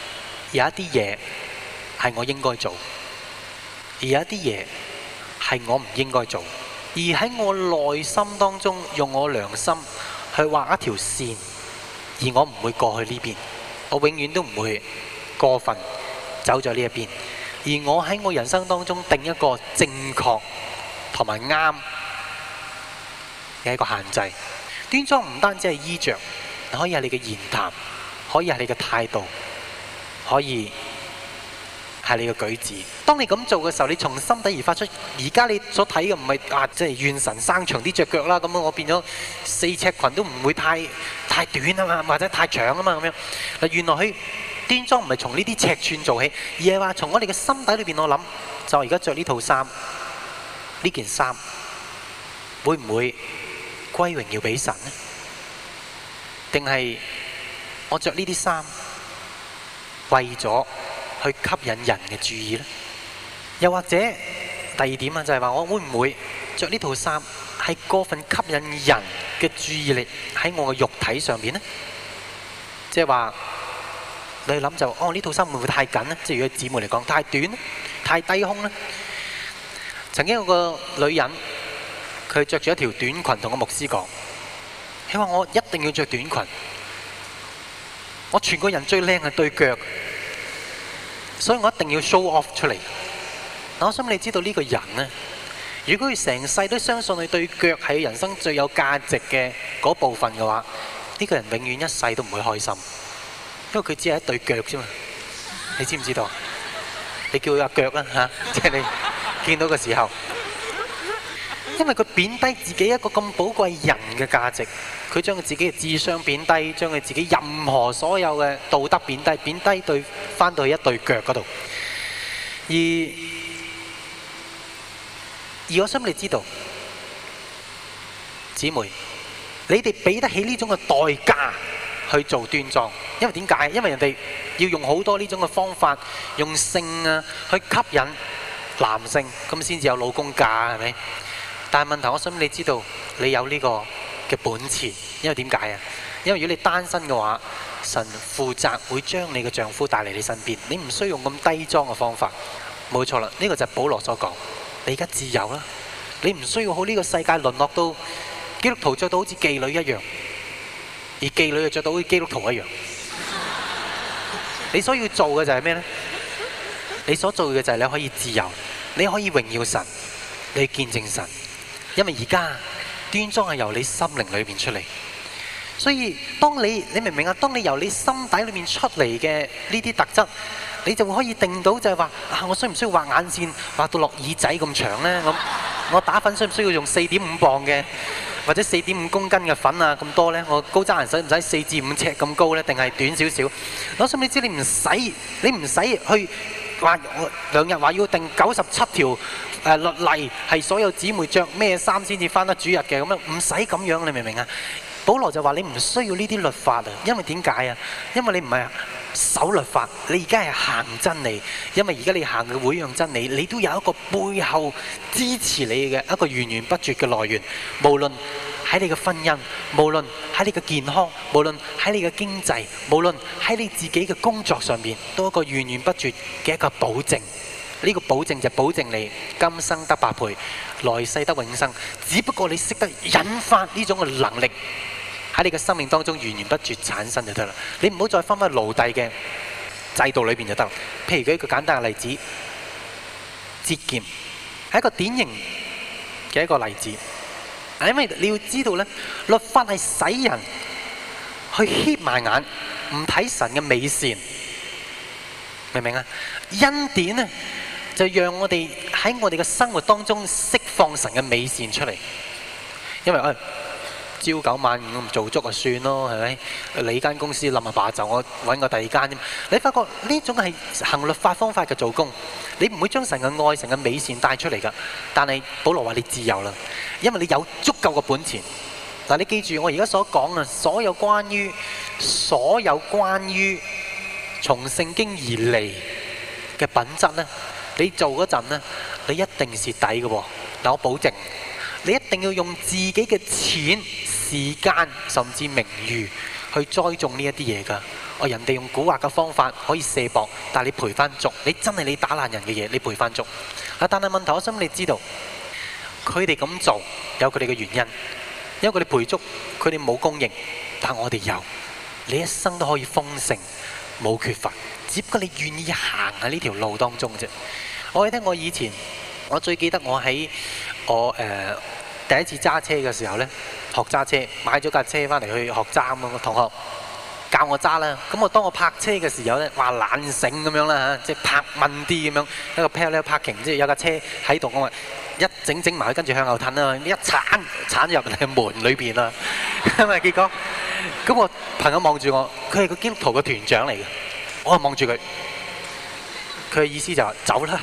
有一啲嘢係我應該做，而有一啲嘢係我唔應該做。而喺我內心當中，用我良心去畫一條線，而我唔會過去呢邊，我永遠都唔會過分走咗呢一邊。而我喺我人生當中定一個正確同埋啱嘅一個限制。端莊唔單止係衣着，可以係你嘅言談，可以係你嘅態度，可以係你嘅舉止。當你咁做嘅時候，你從心底而發出。而家你所睇嘅唔係啊，即係願神生長啲隻腳啦，咁我變咗四尺裙都唔會太太短啊嘛，或者太長啊嘛咁樣。嗱，原來佢端莊唔係從呢啲尺寸做起，而係話從我哋嘅心底裏邊，我諗就而家着呢套衫，呢件衫會唔會歸榮耀俾神呢？定係我着呢啲衫為咗去吸引人嘅注意呢？又或者第二點啊，就係話我會唔會着呢套衫係過分吸引人嘅注意力喺我嘅肉體上面呢？即係話你諗就哦，呢套衫會唔會太緊呢？即係如果姊妹嚟講太短呢？太低胸呢？曾經有個女人，佢着住一條短裙同個牧師講，佢話我一定要着短裙，我全個人最靚係對腳，所以我一定要 show off 出嚟。我想你知道呢個人呢，如果佢成世都相信佢對腳係人生最有價值嘅嗰部分嘅話，呢個人永遠一世都唔會開心，因為佢只係一對腳啫嘛。你知唔知道？你叫佢阿腳啦嚇，即係你見到嘅時候，因為佢貶低自己一個咁寶貴人嘅價值，佢將佢自己嘅智商貶低，將佢自己任何所有嘅道德貶低，貶低對翻到去一對腳嗰度。而而我想你知道，姊妹，你哋俾得起呢種嘅代價去做端莊，因為點解？因為人哋要用好多呢種嘅方法，用性啊去吸引男性，咁先至有老公嫁，係咪？但係問題，我想你知道，你有呢個嘅本錢，因為點解啊？因為如果你單身嘅話，神負責會將你嘅丈夫帶嚟你身邊，你唔需要用咁低裝嘅方法。冇錯啦，呢個就係保羅所講。你而家自由啦，你唔需要好呢個世界淪落到基督徒着到好似妓女一樣，而妓女又着到好似基督徒一樣。你所要做嘅就係咩呢？你所做嘅就係你可以自由，你可以榮耀神，你見證神。因為而家端莊係由你心靈裏面出嚟，所以當你你明唔明啊？當你由你心底裏面出嚟嘅呢啲特質，你就會可以定到就係話啊，我需唔需要畫眼線畫到落耳仔咁長呢？咁我打粉需唔需要用四點五磅嘅或者四點五公斤嘅粉啊咁多呢？我高踭鞋使唔使四至五尺咁高呢？定係短少少？我想你知你唔使你唔使去話兩日話要定九十七條誒律例係所有姊妹着咩衫先至返得主日嘅咁樣，唔使咁樣，你明唔明啊？保羅就話你唔需要呢啲律法啊，因為點解啊？因為你唔係守律法，你而家係行真理。因為而家你行嘅每樣真理，你都有一個背後支持你嘅一個源源不絕嘅來源。無論喺你嘅婚姻，無論喺你嘅健康，無論喺你嘅經濟，無論喺你自己嘅工作上面，都有一個源源不絕嘅一個保證。呢個保證就保證你今生得百倍，來世得永生。只不過你識得引發呢種嘅能力喺你嘅生命當中源源不絕產生就得啦。你唔好再翻返奴隸嘅制度裏邊就得。譬如舉一個簡單嘅例子，節儉係一個典型嘅一個例子。因為你要知道咧，律法係使人去瞌埋眼，唔睇神嘅美善，明唔明啊？恩典咧就讓我哋喺我哋嘅生活當中釋放神嘅美善出嚟。因為誒。哎朝九晚五咁做足就算咯，係咪？你間公司冧下罷就，我揾個第二間啫。你發覺呢種係行律法方法嘅做工，你唔會將神嘅愛、神嘅美善帶出嚟㗎。但係保羅話你自由啦，因為你有足夠嘅本錢。嗱，你記住我而家所講啊，所有關於所有關於從聖經而嚟嘅品質咧，你做嗰陣咧，你一定蝕底嘅喎。嗱，我保證。你一定要用自己嘅錢時間甚至名譽去栽種呢一啲嘢㗎。我人哋用蠱惑嘅方法可以卸膊，但係你賠翻足，你真係你打爛人嘅嘢，你賠翻足。啊！但係問題，我想你知道，佢哋咁做有佢哋嘅原因，因為佢哋賠足，佢哋冇供應，但我哋有，你一生都可以豐盛，冇缺乏，只不過你願意行喺呢條路當中啫。我記得我以前，我最記得我喺我誒、呃、第一次揸車嘅時候呢，學揸車，買咗架車翻嚟去學揸咁啊，同學教我揸啦。咁我當我泊車嘅時候呢，話懶醒咁樣啦嚇，即係泊慢啲咁樣，一個 parallel parking，即係有架車喺度，我話一整整埋，跟住向後褪啦，一鏟鏟入嚟門裏邊啦。咁啊結果，咁我朋友望住我，佢係個基督徒嘅團長嚟嘅，我啊望住佢，佢嘅意思就話走啦。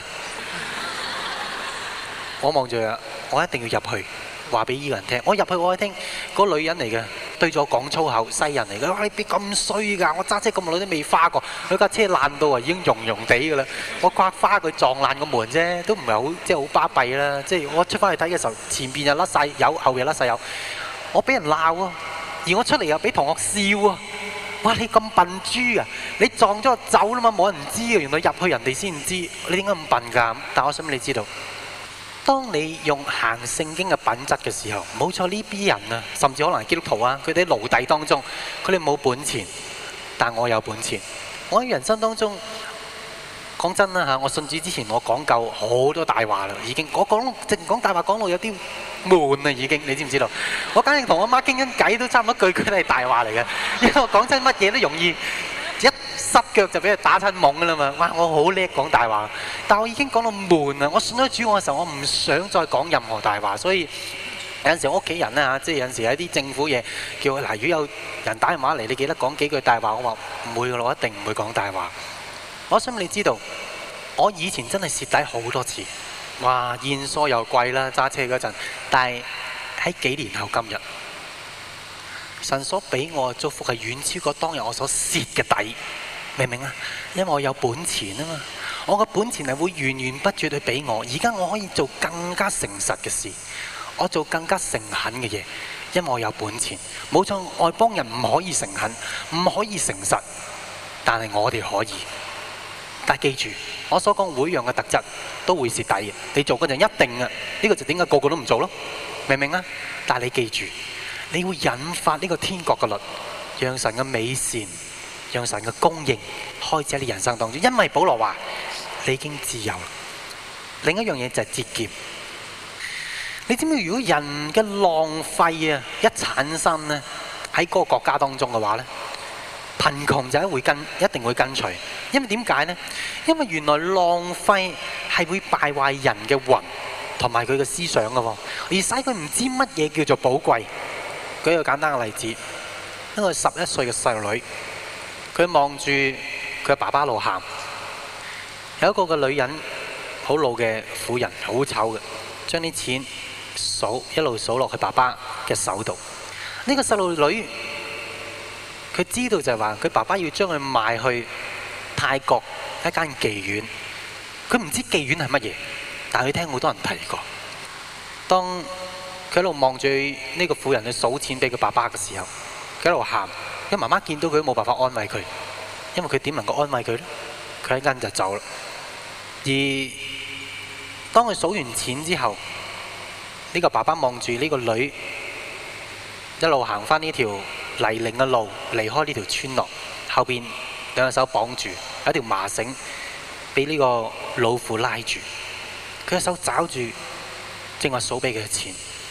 我望住佢，我一定要入去。話俾依個人聽，我入去我聽嗰個女人嚟嘅，對咗我講粗口，西人嚟嘅。哇！你邊咁衰㗎？我揸車咁耐都未花過，佢架車爛到啊，已經溶溶地㗎啦。我刮花佢撞爛個門啫，都唔係好即係好巴閉啦。即係我出翻去睇嘅時候，前邊又甩晒油，後邊又甩晒油。我俾人鬧啊，而我出嚟又俾同學笑啊。哇！你咁笨豬啊！你撞咗我走啦嘛，冇人知啊。原來入去人哋先知，你點解咁笨㗎？但我想你知道。當你用行聖經嘅品質嘅時候，冇錯，呢啲人啊，甚至可能係基督徒啊，佢哋喺奴隸當中，佢哋冇本錢，但我有本錢。我喺人生當中講真啦嚇，我信主之前我講夠好多大話啦，已經我講淨講大話講到有啲悶啊，已經你知唔知道？我簡直同我媽傾緊偈都差唔多句句都係大話嚟嘅，因為我講真乜嘢都容易一濕腳就俾佢打親懵㗎啦嘛！哇，我好叻講大話，但我已經講到悶啊！我信咗主我嘅時候，我唔想再講任何大話，所以有陣時我屋企人咧嚇，即係有陣時有啲政府嘢叫我嗱，如果有人打電話嚟，你記得講幾句大話，我話唔會㗎啦，我一定唔會講大話。我想你知道，我以前真係蝕底好多次，哇，現數又貴啦，揸車嗰陣，但係喺幾年後今日。神所俾我嘅祝福係遠超過當日我所蝕嘅底，明唔明啊？因為我有本錢啊嘛，我嘅本錢係會源源不絕去俾我。而家我可以做更加誠實嘅事，我做更加誠懇嘅嘢，因為我有本錢。冇錯，外邦人唔可以誠懇，唔可以誠實，但係我哋可以。但係記住，我所講每樣嘅特質都會蝕底嘅。你做嗰陣一定啊，呢個就點解個個都唔做咯？明唔明啊？但係你記住。你會引發呢個天國嘅律，讓神嘅美善，讓神嘅供應開始喺你人生當中。因為保羅話你已經自由。另一樣嘢就係節儉。你知唔知如果人嘅浪費啊一產生呢，喺嗰個國家當中嘅話呢，貧窮就會跟一定會跟隨。因為點解呢？因為原來浪費係會敗壞人嘅魂同埋佢嘅思想嘅喎，而使佢唔知乜嘢叫做寶貴。舉一個簡單嘅例子，一個十一歲嘅細路女，佢望住佢爸爸路喊，有一個嘅女人，好老嘅婦人，好醜嘅，將啲錢數一路數落佢爸爸嘅手度。呢個細路女，佢知道就係話佢爸爸要將佢賣去泰國一間妓院，佢唔知妓院係乜嘢，但係佢聽好多人提過。當佢一路望住呢個婦人去數錢俾佢爸爸嘅時候，佢一路喊，因為媽媽見到佢都冇辦法安慰佢，因為佢點能夠安慰佢呢？佢一間就走啦。而當佢數完錢之後，呢個爸爸望住呢個女一路行返呢條泥濘嘅路，離開呢條村落，後邊兩隻手綁住，有一條麻繩俾呢個老婦拉住，佢嘅手抓住正話數俾佢嘅錢。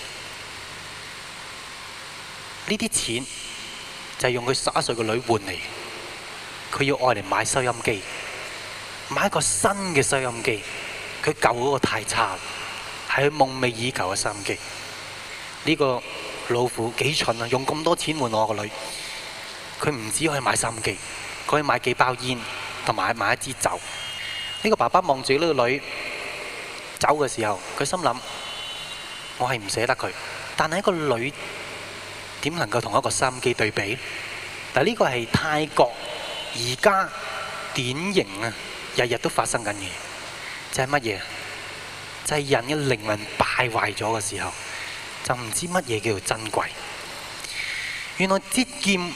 呢啲錢就係用佢十一歲嘅女換嚟，佢要愛嚟買收音機，買一個新嘅收音機。佢舊嗰個太差，係佢夢寐以求嘅收音機。呢個老婦幾蠢啊！用咁多錢換我個女，佢唔止可以買收音機，佢可以買幾包煙同埋買一支酒。呢個爸爸望住呢個女走嘅時候，佢心諗：我係唔捨得佢，但係一個女點能夠同一個收音機對比？但係呢個係泰國而家典型啊，日日都發生緊嘢，就係乜嘢？就係人嘅靈魂敗壞咗嘅時候，就唔知乜嘢叫做珍貴。 原來節儉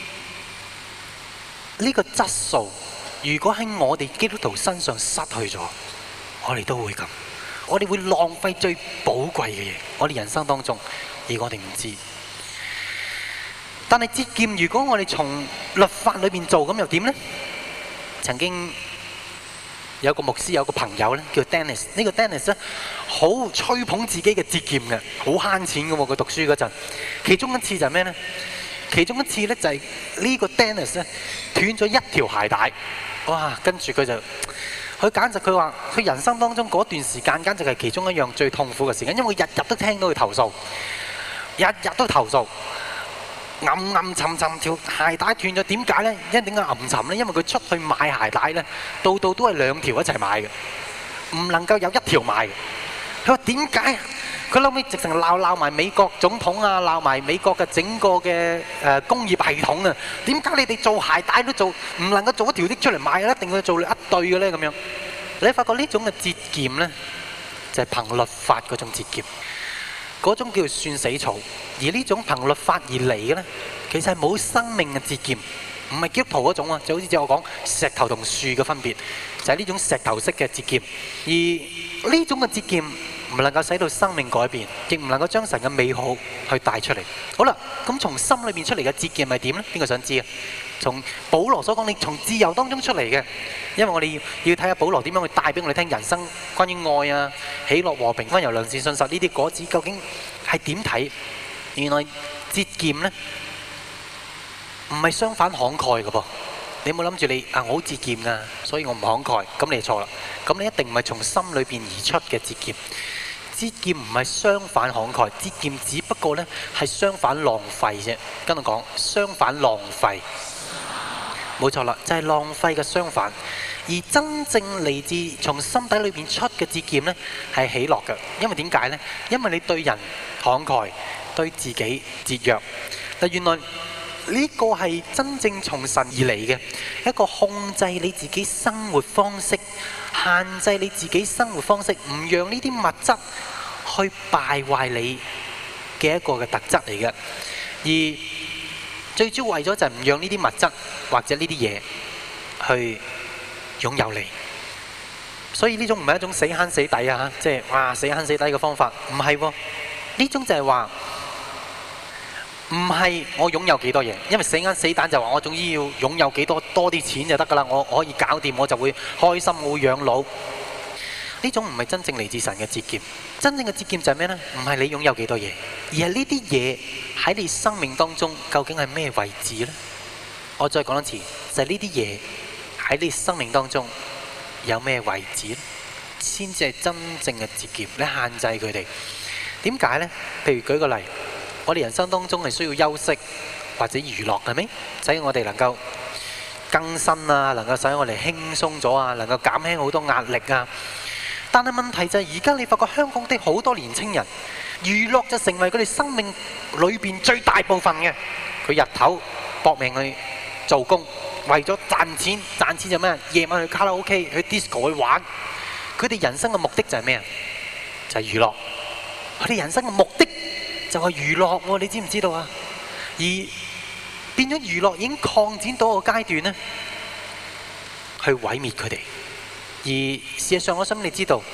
呢個質素，如果喺我哋基督徒身上失去咗，我哋都會咁，我哋會浪費最寶貴嘅嘢，我哋人生當中，而我哋唔知。但係節儉，如果我哋從律法裏面做，咁又點呢？曾經有個牧師有個朋友咧，叫 Dennis。呢個 Dennis 咧，好吹捧自己嘅節儉嘅，好慳錢嘅喎。佢讀書嗰陣，其中一次就係咩呢？其中一次咧就係呢個 Dennis 咧斷咗一條鞋帶，哇！跟住佢就，佢簡直佢話，佢人生當中嗰段時間簡直係其中一樣最痛苦嘅時間，因為佢日日都聽到佢投訴，日日都投訴。暗暗沉沉條鞋帶斷咗，點解呢？因為點解暗沉呢？因為佢出去買鞋帶呢，度度都係兩條一齊買嘅，唔能夠有一條買嘅。佢話點解？佢後尾直情鬧鬧埋美國總統啊，鬧埋美國嘅整個嘅誒工業系統啊！點解你哋做鞋帶都做唔能夠做一條啲出嚟賣，一定要做一對嘅呢？咁樣你發覺呢種嘅節儉呢，就係憑律法嗰種節儉。嗰種叫做算死草，而呢種憑律法而嚟嘅呢，其實係冇生命嘅節儉，唔係基督徒嗰種啊，就好似我講石頭同樹嘅分別，就係呢種石頭式嘅節儉，而呢種嘅節儉唔能夠使到生命改變，亦唔能夠將神嘅美好去帶出嚟。好啦，咁從心裏面出嚟嘅節儉係點呢？邊個想知啊？從保羅所講，你從自由當中出嚟嘅，因為我哋要要睇下保羅點樣去帶俾我哋聽人生關於愛啊、喜樂、和平、溫柔、良善、信實呢啲果子究竟係點睇？原來節儉呢唔係相反慷慨嘅噃。你冇諗住你啊，我好節儉啊，所以我唔慷慨，咁你就錯啦。咁你一定唔係從心裏邊而出嘅節儉。節儉唔係相反慷慨，節儉只不過呢係相反浪費啫。跟我講，相反浪費。冇錯啦，就係浪費嘅相反。而真正嚟自從心底裏邊出嘅節儉呢，係喜樂嘅。因為點解呢？因為你對人慷慨，對自己節約。嗱，原來呢個係真正從神而嚟嘅一個控制你自己生活方式，限制你自己生活方式，唔讓呢啲物質去敗壞你嘅一個嘅特質嚟嘅。而最主要為咗就係唔讓呢啲物質或者呢啲嘢去擁有你，所以呢種唔係一種死慳死抵啊！即係哇死慳死抵嘅方法，唔係喎。呢種就係話唔係我擁有幾多嘢，因為死慳死抵就話我總之要擁有幾多多啲錢就得㗎啦，我可以搞掂，我就會開心，我會養老。呢種唔係真正嚟自神嘅節儉。真正嘅節儉就係咩呢？唔係你擁有幾多嘢，而係呢啲嘢喺你生命當中究竟係咩位置呢？我再講一次，就係呢啲嘢喺你生命當中有咩位置呢？先至係真正嘅節儉。你限制佢哋，點解呢？譬如舉個例，我哋人生當中係需要休息或者娛樂，係咪？使我哋能夠更新啊，能夠使我哋輕鬆咗啊，能夠減輕好多壓力啊。但係問題就係而家你發覺香港的好多年青人，娛樂就成為佢哋生命裏邊最大部分嘅。佢日頭搏命去做工，為咗賺錢，賺錢就咩？夜晚去卡拉 OK、去 disco 去玩。佢哋人生嘅目的就係咩啊？就係娛樂。佢哋人生嘅目的就係娛樂喎，你知唔知道啊？而變咗娛樂已經擴展到個階段呢，去毀滅佢哋。而事實上，我想你知道，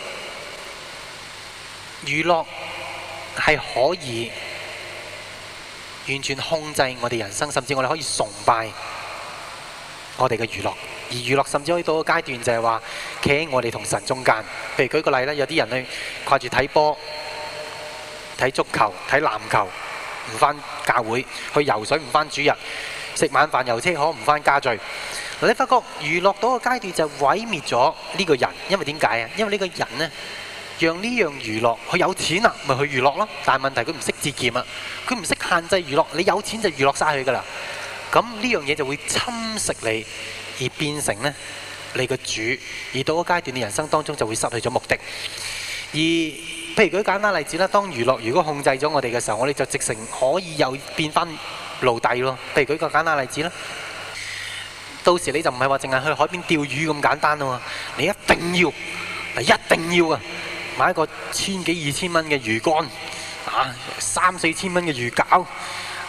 娛樂係可以完全控制我哋人生，甚至我哋可以崇拜我哋嘅娛樂。而娛樂甚至可以到個階段，就係話企喺我哋同神中間。譬如舉個例啦，有啲人去掛住睇波、睇足球、睇籃球，唔返教會；去游水唔返主日；食晚飯遊車河唔返家聚。你發覺娛樂到個階段就毀滅咗呢個人，因為點解啊？因為呢個人呢，讓呢樣娛樂，佢有錢啦，咪去娛樂咯。但係問題佢唔識節儉啊，佢唔識限制娛樂。你有錢就娛樂晒佢㗎啦。咁呢樣嘢就會侵蝕你，而變成呢你個主。而到個階段，你人生當中就會失去咗目的。而譬如舉簡單例子啦，當娛樂如果控制咗我哋嘅時候，我哋就直成可以又變翻奴隸咯。譬如舉個簡單例子啦。到時你就唔係話淨係去海邊釣魚咁簡單咯，你一定要，一定要啊，買一個千幾二千蚊嘅魚竿，啊三四千蚊嘅魚餃，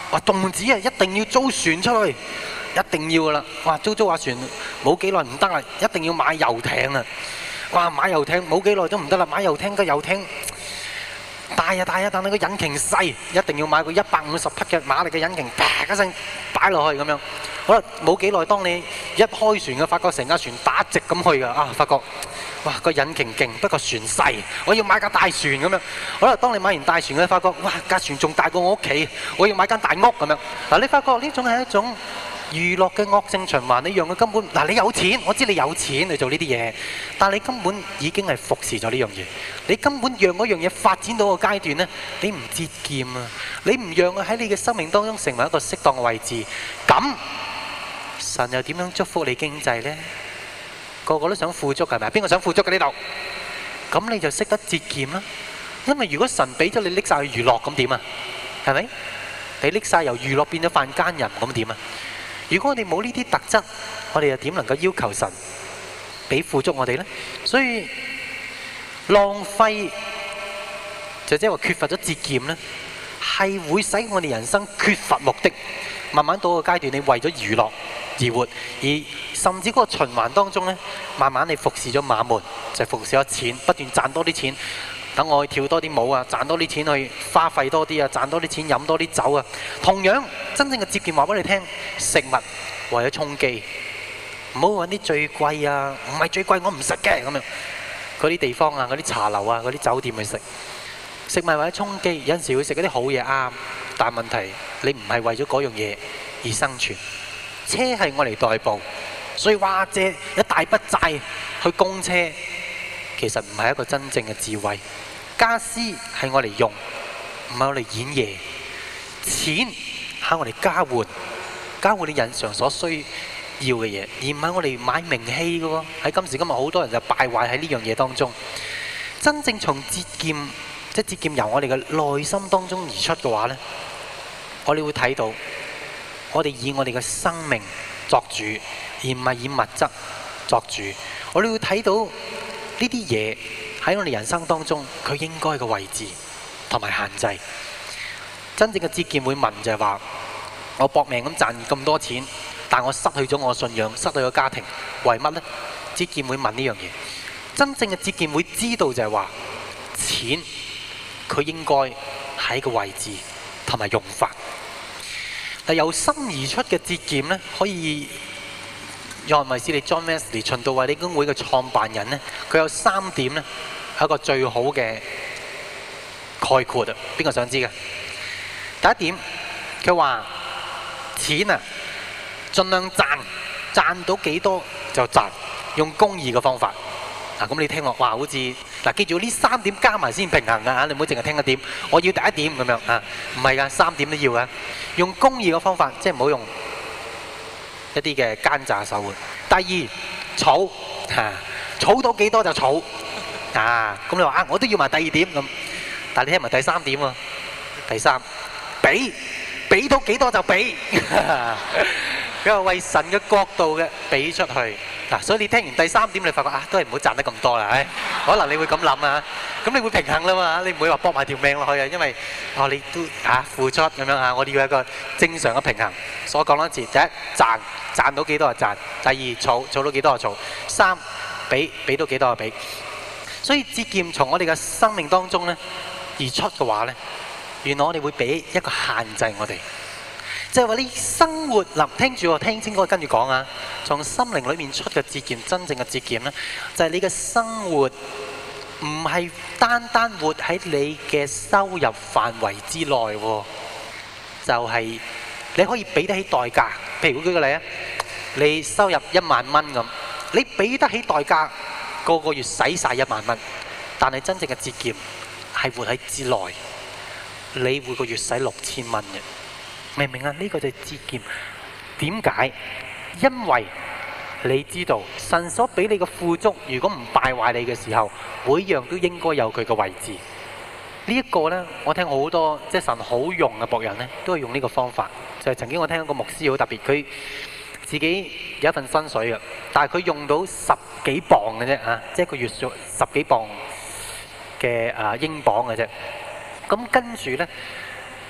話動子啊，一定要租船出去，一定要噶啦。哇，租租下船冇幾耐唔得啦，一定要買遊艇啊！哇，買遊艇冇幾耐都唔得啦，買遊艇個遊艇大啊大啊，但係個引擎細，一定要買個一百五十匹嘅馬力嘅引擎，啪一聲擺落去咁樣。好啦，冇幾耐，當你一開船嘅，發覺成架船打直咁去㗎，啊，發覺哇個引擎勁，不過船細，我要買架大船咁樣。好啦，當你買完大船嘅，發覺哇架船仲大過我屋企，我要買間大屋咁樣。嗱，你發覺呢種係一種娛樂嘅惡性循環，你讓佢根本嗱，你有錢，我知你有錢去做呢啲嘢，但你根本已經係服侍咗呢樣嘢，你根本讓嗰樣嘢發展到個階段呢，你唔節儉啊，你唔讓佢喺你嘅生命當中成為一個適當嘅位置，咁神又點樣祝福你經濟呢？個個都想富足係咪？邊個想富足嘅呢度？咁你就識得節儉啦，因為如果神俾咗你拎晒去娛樂，咁點啊？係咪？你拎晒由娛樂變咗犯奸淫，咁點啊？如果我哋冇呢啲特質，我哋又點能夠要求神俾富足我哋呢？所以浪費就即係話缺乏咗節儉呢，係會使我哋人生缺乏目的。慢慢到個階段，你為咗娛樂而活，而甚至嗰個循環當中呢，慢慢你服侍咗馬門，就係服侍咗錢，不斷賺多啲錢。等我去跳多啲舞啊，賺多啲錢去花費多啲啊，賺多啲錢飲多啲酒啊。同樣真正嘅節儉話俾你聽，食物為咗充飢，唔好揾啲最貴啊，唔係最貴我唔食嘅咁樣。嗰啲地方啊，嗰啲茶樓啊，嗰啲酒店去食。食物為咗充飢，有陣時會食嗰啲好嘢啱，但係問題你唔係為咗嗰樣嘢而生存。車係我嚟代步，所以話借一大筆債去供車，其實唔係一個真正嘅智慧。家私係我嚟用，唔係我嚟演嘢。錢係我嚟交換，交換你日常所需要嘅嘢，而唔係我嚟買名氣嘅喎。喺今時今日，好多人就敗壞喺呢樣嘢當中。真正從節儉，即係節儉由我哋嘅內心當中而出嘅話呢，我哋會睇到，我哋以我哋嘅生命作主，而唔係以物質作主。我哋會睇到呢啲嘢喺我哋人生當中，佢應該嘅位置同埋限制。真正嘅節儉會問就係話：我搏命咁賺咁多錢，但我失去咗我信仰，失去咗家庭，為乜呢？節儉會問呢樣嘢。真正嘅節儉會知道就係話，錢佢應該喺個位置同埋用法。但由心而出嘅節儉呢，可以約翰衛斯理 John Wesley 循道衛理公會嘅創辦人呢，佢有三點呢，係一個最好嘅概括啊！邊個想知嘅？第一點，佢話錢啊，盡量賺，賺到幾多就賺，用公義嘅方法。嗱，咁你聽落，哇，好似嗱，記住呢三點加埋先平衡噶嚇，你唔好淨係聽一點。我要第一點咁樣啊，唔係噶，三點都要噶。用公義嘅方法，即係唔好用一啲嘅奸詐手腕。第二，儲嚇，儲到幾多就儲啊。咁你話啊，我都要埋第二點咁，但係你聽埋第三點喎。第三，俾俾到幾多就俾，佢話為神嘅國度嘅俾出去。嗱，所以你聽完第三點，你發覺啊，都係唔好賺得咁多啦，唉，可能你會咁諗啊，咁你會平衡啦嘛，你唔會話搏埋條命落去啊，因為哦你都啊付出咁樣啊，我哋要一個正常嘅平衡。所以講多一次，第一賺賺到幾多就賺，第二儲儲到幾多就儲，三俾俾到幾多就俾。所以節儉從我哋嘅生命當中咧而出嘅話咧，原來我哋會俾一個限制我哋。即係話你生活嗱，聽住我聽清楚，跟住講啊！從心靈裏面出嘅節儉，真正嘅節儉呢，就係你嘅生活唔係單單活喺你嘅收入範圍之內喎，就係你可以俾得起代價。譬如舉個例啊，你收入一萬蚊咁，你俾得起代價，個個月使晒一萬蚊，但係真正嘅節儉係活喺之內，你每個月使六千蚊嘅。明唔明啊？呢個就係節儉。點解？因為你知道神所俾你嘅富足，如果唔敗壞你嘅時候，每樣都應該有佢嘅位置。呢一個呢，我聽好多即係神好用嘅僕人呢，都係用呢個方法。就係曾經我聽一個牧師好特別，佢自己有一份薪水嘅，但係佢用到十幾磅嘅啫啊，即係一個月數十幾磅嘅啊英鎊嘅啫。咁跟住呢。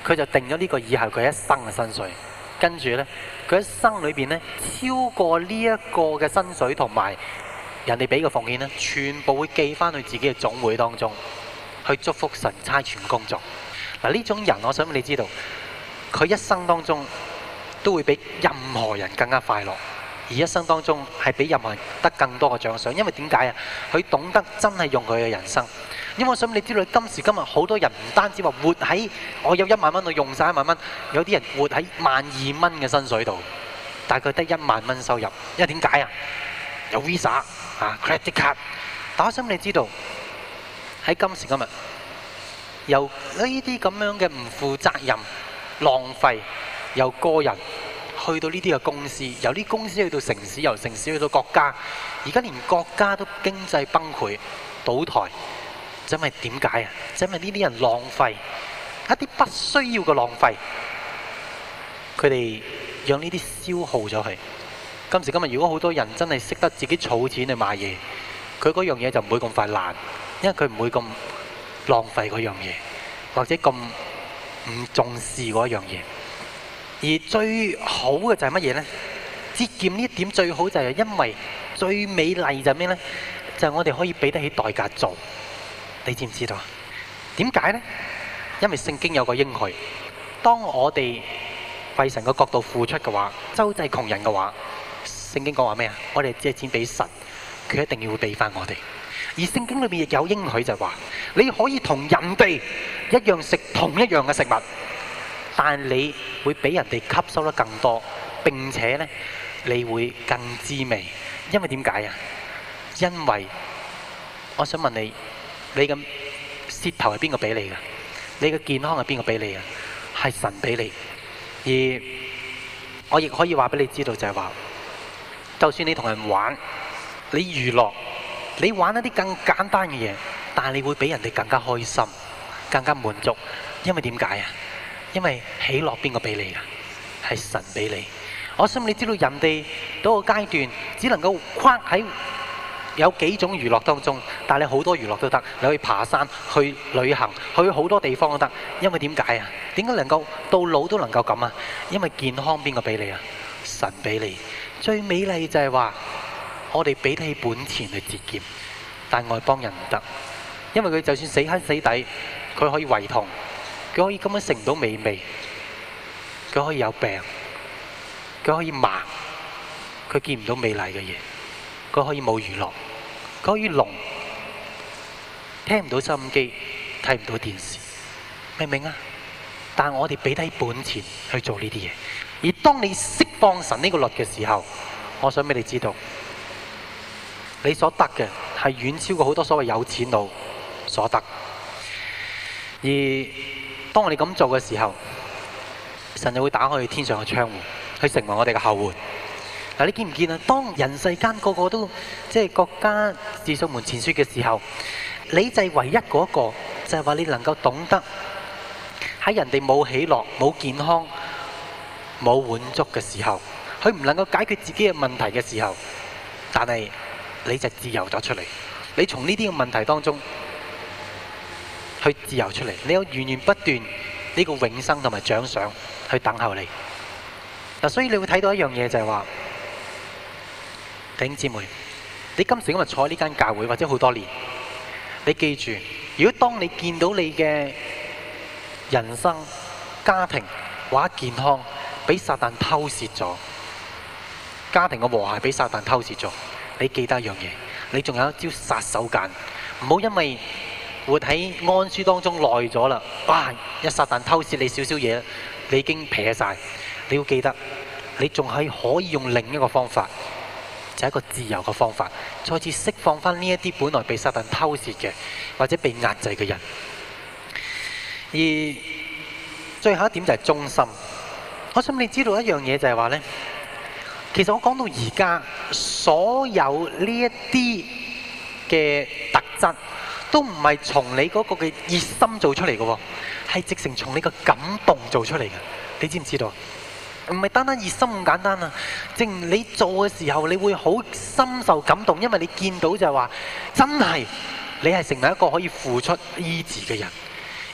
佢就定咗呢個以後佢一生嘅薪水。跟住呢，佢一生裏邊呢，超過呢一個嘅薪水同埋人哋俾嘅奉獻呢，全部會寄翻去自己嘅總會當中，去祝福神差傳工作。嗱，呢種人，我想你知道，佢一生當中都會比任何人更加快樂，而一生當中係比任何人得更多嘅獎賞。因為點解啊？佢懂得真係用佢嘅人生。因為我想你知道，今時今日好多人唔單止話活喺我有一萬蚊，我用晒一萬蚊，有啲人活喺萬二蚊嘅薪水度，但係佢得一萬蚊收入。因為點解啊？有 Visa 啊 credit card。但我想你知道，喺今時今日，由呢啲咁樣嘅唔負責任、浪費，由個人去到呢啲嘅公司，由啲公司去到城市，由城市去到國家，而家連國家都經濟崩潰、倒台。因為點解啊？因為呢啲人浪費一啲不需要嘅浪費，佢哋讓呢啲消耗咗佢。今時今日，如果好多人真係識得自己儲錢去買嘢，佢嗰樣嘢就唔會咁快爛，因為佢唔會咁浪費嗰樣嘢，或者咁唔重視嗰樣嘢。而最好嘅就係乜嘢呢？節儉呢一點最好就係因為最美麗就係咩呢？就係我哋可以俾得起代價做。你知唔知道啊？點解呢？因為聖經有個應許，當我哋為神嘅角度付出嘅話，周濟窮人嘅話，聖經講話咩啊？我哋借錢俾神，佢一定要會俾翻我哋。而聖經裏面亦有應許就係話，你可以同人哋一樣食同一樣嘅食物，但你會俾人哋吸收得更多，並且呢，你會更滋味。因為點解啊？因為我想問你。你嘅舌頭係邊個俾你嘅？你嘅健康係邊個俾你嘅？係神俾你。而我亦可以話俾你知道就係話，就算你同人玩，你娛樂，你玩一啲更簡單嘅嘢，但係你會比人哋更加開心，更加滿足。因為點解啊？因為喜樂邊個俾你嘅？係神俾你。我想你知道人哋嗰個階段只能夠框喺有幾種娛樂當中，但係你好多娛樂都得，你可以爬山、去旅行、去好多地方都得。因為點解啊？點解能夠到老都能夠咁啊？因為健康邊個俾你啊？神俾你。最美麗就係話，我哋俾得起本錢去節儉，但外邦人唔得，因為佢就算死慳死抵，佢可以胃痛，佢可以根本食唔到美味，佢可以有病，佢可以盲，佢見唔到美麗嘅嘢，佢可以冇娛樂。佢可以聾，聽唔到收音機，睇唔到電視，明唔明啊？但係我哋俾低本錢去做呢啲嘢，而當你釋放神呢個律嘅時候，我想俾你知道，你所得嘅係遠超過好多所謂有錢佬所得。而當我哋咁做嘅時候，神就會打開天上嘅窗戶，去成為我哋嘅後援。嗱，你見唔見啊？當人世間個個都即係國家自掃門前雪嘅時候，你就係唯一嗰一個，就係話你能夠懂得喺人哋冇喜樂、冇健康、冇滿足嘅時候，佢唔能夠解決自己嘅問題嘅時候，但係你就自由咗出嚟。你從呢啲嘅問題當中去自由出嚟，你有源源不斷呢個永生同埋獎賞去等候你。嗱，所以你會睇到一樣嘢就係話，弟兄姊妹，你今時今日坐喺呢間教會或者好多年，你記住，如果當你見到你嘅人生、家庭或者健康俾撒旦偷竊咗，家庭嘅和諧俾撒旦偷竊咗，你記得一樣嘢，你仲有一招殺手鐧，唔好因為活喺安舒當中耐咗啦，哇！一撒旦偷竊你少少嘢，你已經撇晒。你要記得，你仲係可以用另一個方法。就係一個自由嘅方法，再次釋放翻呢一啲本來被撒旦偷竊嘅或者被壓制嘅人。而最後一點就係忠心。我想你知道一樣嘢就係話呢，其實我講到而家所有呢一啲嘅特質，都唔係從你嗰個嘅熱心做出嚟嘅喎，係直情從你嘅感動做出嚟嘅。你知唔知道？唔係單單熱心咁簡單啊！正如你做嘅時候，你會好深受感動，因為你見到就係話，真係你係成為一個可以付出醫治嘅人，而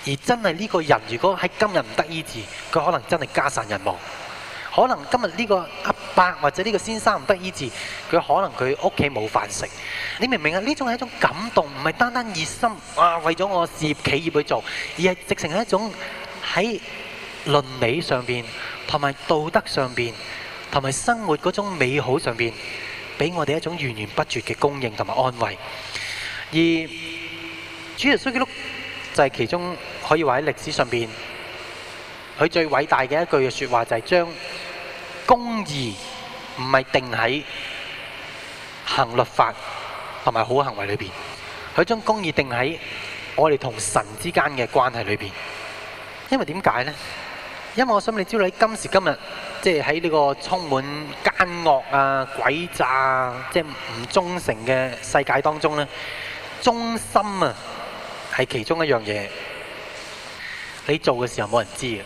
而真係呢個人如果喺今日唔得醫治，佢可能真係家散人亡。可能今日呢個阿伯或者呢個先生唔得醫治，佢可能佢屋企冇飯食。你明唔明啊？呢種係一種感動，唔係單單熱心啊，為咗我事業企業去做，而係直情係一種喺倫理上邊同埋道德上邊同埋生活嗰種美好上邊，俾我哋一種源源不絕嘅供應同埋安慰。而主耶穌基督就係其中可以話喺歷史上邊，佢最偉大嘅一句嘅説話就係將公義唔係定喺行律法同埋好行為裏邊，佢將公義定喺我哋同神之間嘅關係裏邊。因為點解呢？因為我想你知道喺今時今日，即係喺呢個充滿奸惡啊、詭詐啊、即係唔忠誠嘅世界當中呢，忠心啊係其中一樣嘢。你做嘅時候冇人知嘅，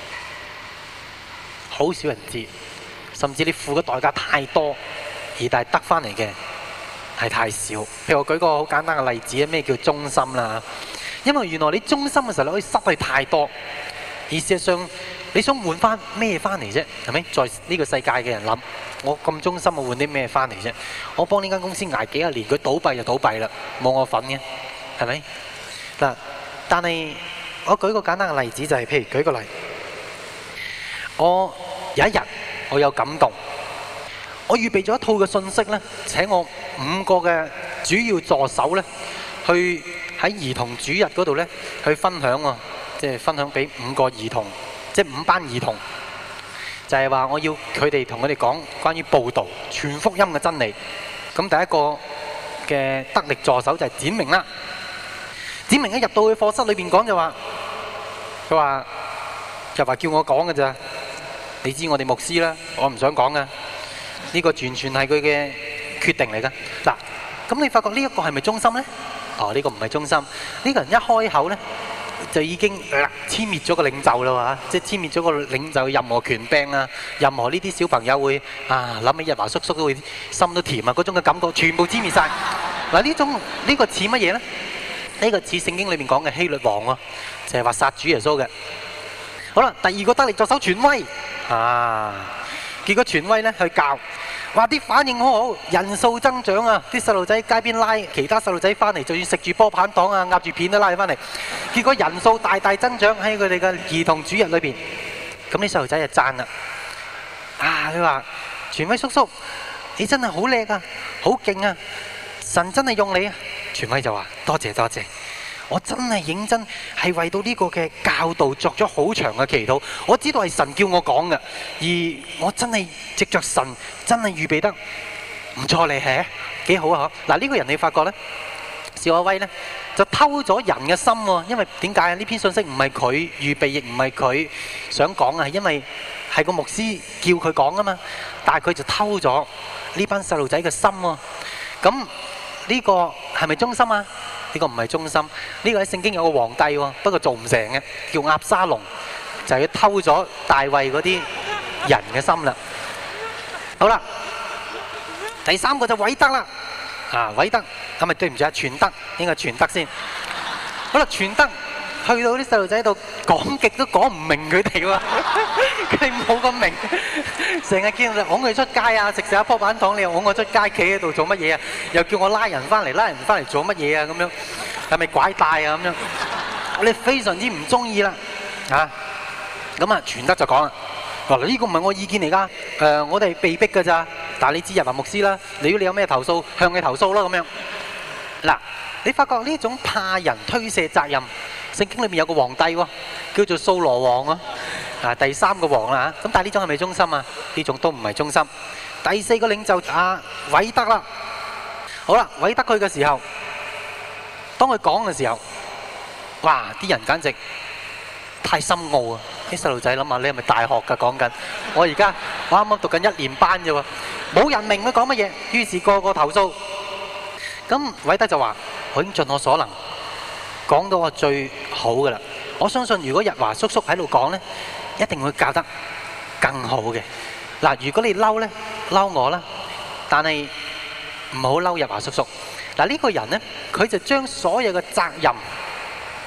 好少人知，甚至你付嘅代價太多，而但係得返嚟嘅係太少。譬如我舉個好簡單嘅例子，咩叫忠心啦？因為原來你忠心嘅時候，你可以失去太多。而事實上，你想換翻咩翻嚟啫？係咪？在呢個世界嘅人諗，我咁忠心，我換啲咩翻嚟啫？我幫呢間公司捱幾十年，佢倒閉就倒閉啦，冇我份嘅，係咪？嗱，但係我舉個簡單嘅例子，就係譬如舉個例，我有一日我有感動，我預備咗一套嘅信息咧，請我五個嘅主要助手咧，去喺兒童主日嗰度咧去分享喎。即係分享俾五個兒童，即係五班兒童，就係話我要佢哋同佢哋講關於報導全福音嘅真理。咁第一個嘅得力助手就係展明啦。展明一入到去課室裏邊講就話，佢話就話叫我講嘅咋？你知我哋牧師啦，我唔想講噶。呢個完全係佢嘅決定嚟噶。嗱，咁你發覺呢一個係咪忠心呢？哦，呢個唔係忠心。呢個人一開口呢，就已經殲滅咗個領袖啦，嚇！即係殲滅咗個領袖，任何權柄啊，任何呢啲小朋友會啊諗起日華叔叔都會心都甜啊，嗰種嘅感覺全部殲滅晒。嗱，呢種呢個似乜嘢呢？呢個似聖經裏面講嘅希律王喎，就係話殺主耶穌嘅。好啦，第二個得力助手權威啊，結果權威呢去教。話啲反應好好，人數增長啊！啲細路仔街邊拉其他細路仔翻嚟，就算食住波棒糖啊、壓住片都拉翻嚟。結果人數大大增長喺佢哋嘅兒童主日裏邊。咁啲細路仔就讚啦，啊！佢話：權威叔叔，你真係好叻啊，好勁啊！神真係用你啊！權威就話：多謝多謝。我真係認真係為到呢個嘅教導作咗好長嘅祈禱，我知道係神叫我講嘅，而我真係藉着神真係預備得唔錯嚟，係幾好啊！嗱，呢個人你發覺呢，邵亞威呢就偷咗人嘅心喎，因為點解啊？呢篇信息唔係佢預備，亦唔係佢想講啊，係因為係個牧師叫佢講啊嘛，但係佢就偷咗呢班細路仔嘅心喎。咁呢個係咪忠心啊？呢個唔係忠心，呢個喺聖經有個皇帝喎，不過做唔成嘅，叫押沙龍，就係佢偷咗大衛嗰啲人嘅心啦。好啦，第三個就偉德啦，啊偉德，咁咪對唔住啊，全德，應該全德先。好啦，全德去到啲細路仔度講極都講唔明佢哋喎，佢哋冇咁明，成日叫我拱佢出街啊，食食一樖板糖，你又拱我出街，企喺度做乜嘢啊？又叫我拉人翻嚟，拉人翻嚟做乜嘢啊？咁樣係咪拐帶啊？咁樣我哋非常之唔中意啦，啊！咁啊，全德就講啦，嗱呢個唔係我意見嚟㗎，誒我哋係被逼㗎咋，但係你知日華牧師啦，如果你有咩投訴，向你投訴啦咁樣。嗱，你發覺呢種怕人推卸責任。聖經裏面有個皇帝喎，叫做掃羅王啊，啊第三個王啦嚇，咁但係呢種係咪忠心啊？呢種都唔係忠心。第四個領袖阿偉德啦，好啦，偉德佢嘅時候，當佢講嘅時候，哇！啲人簡直太深奧啊！啲細路仔諗下，你係咪大學㗎講緊？我而家我啱啱讀緊一年班啫喎，冇人明佢講乜嘢，於是個個投訴。咁偉德就話：我已經盡我所能。講到我最好嘅啦，我相信如果日華叔叔喺度講呢，一定會教得更好嘅。嗱，如果你嬲呢，嬲我啦，但係唔好嬲日華叔叔。嗱，呢個人呢，佢就將所有嘅責任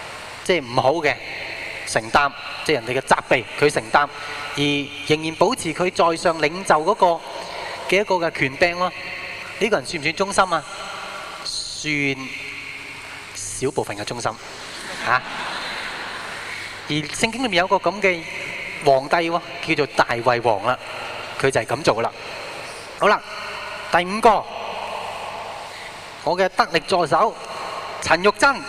即係唔好嘅承擔，即係人哋嘅責備佢承擔，而仍然保持佢在上領袖嗰個嘅一個嘅權柄咯。呢個人算唔算忠心啊？算少部分嘅忠心嚇。而聖經裏面有個咁嘅皇帝喎，叫做大衛王啦，佢就係咁做啦。好啦，第五個，我嘅得力助手陳玉珍。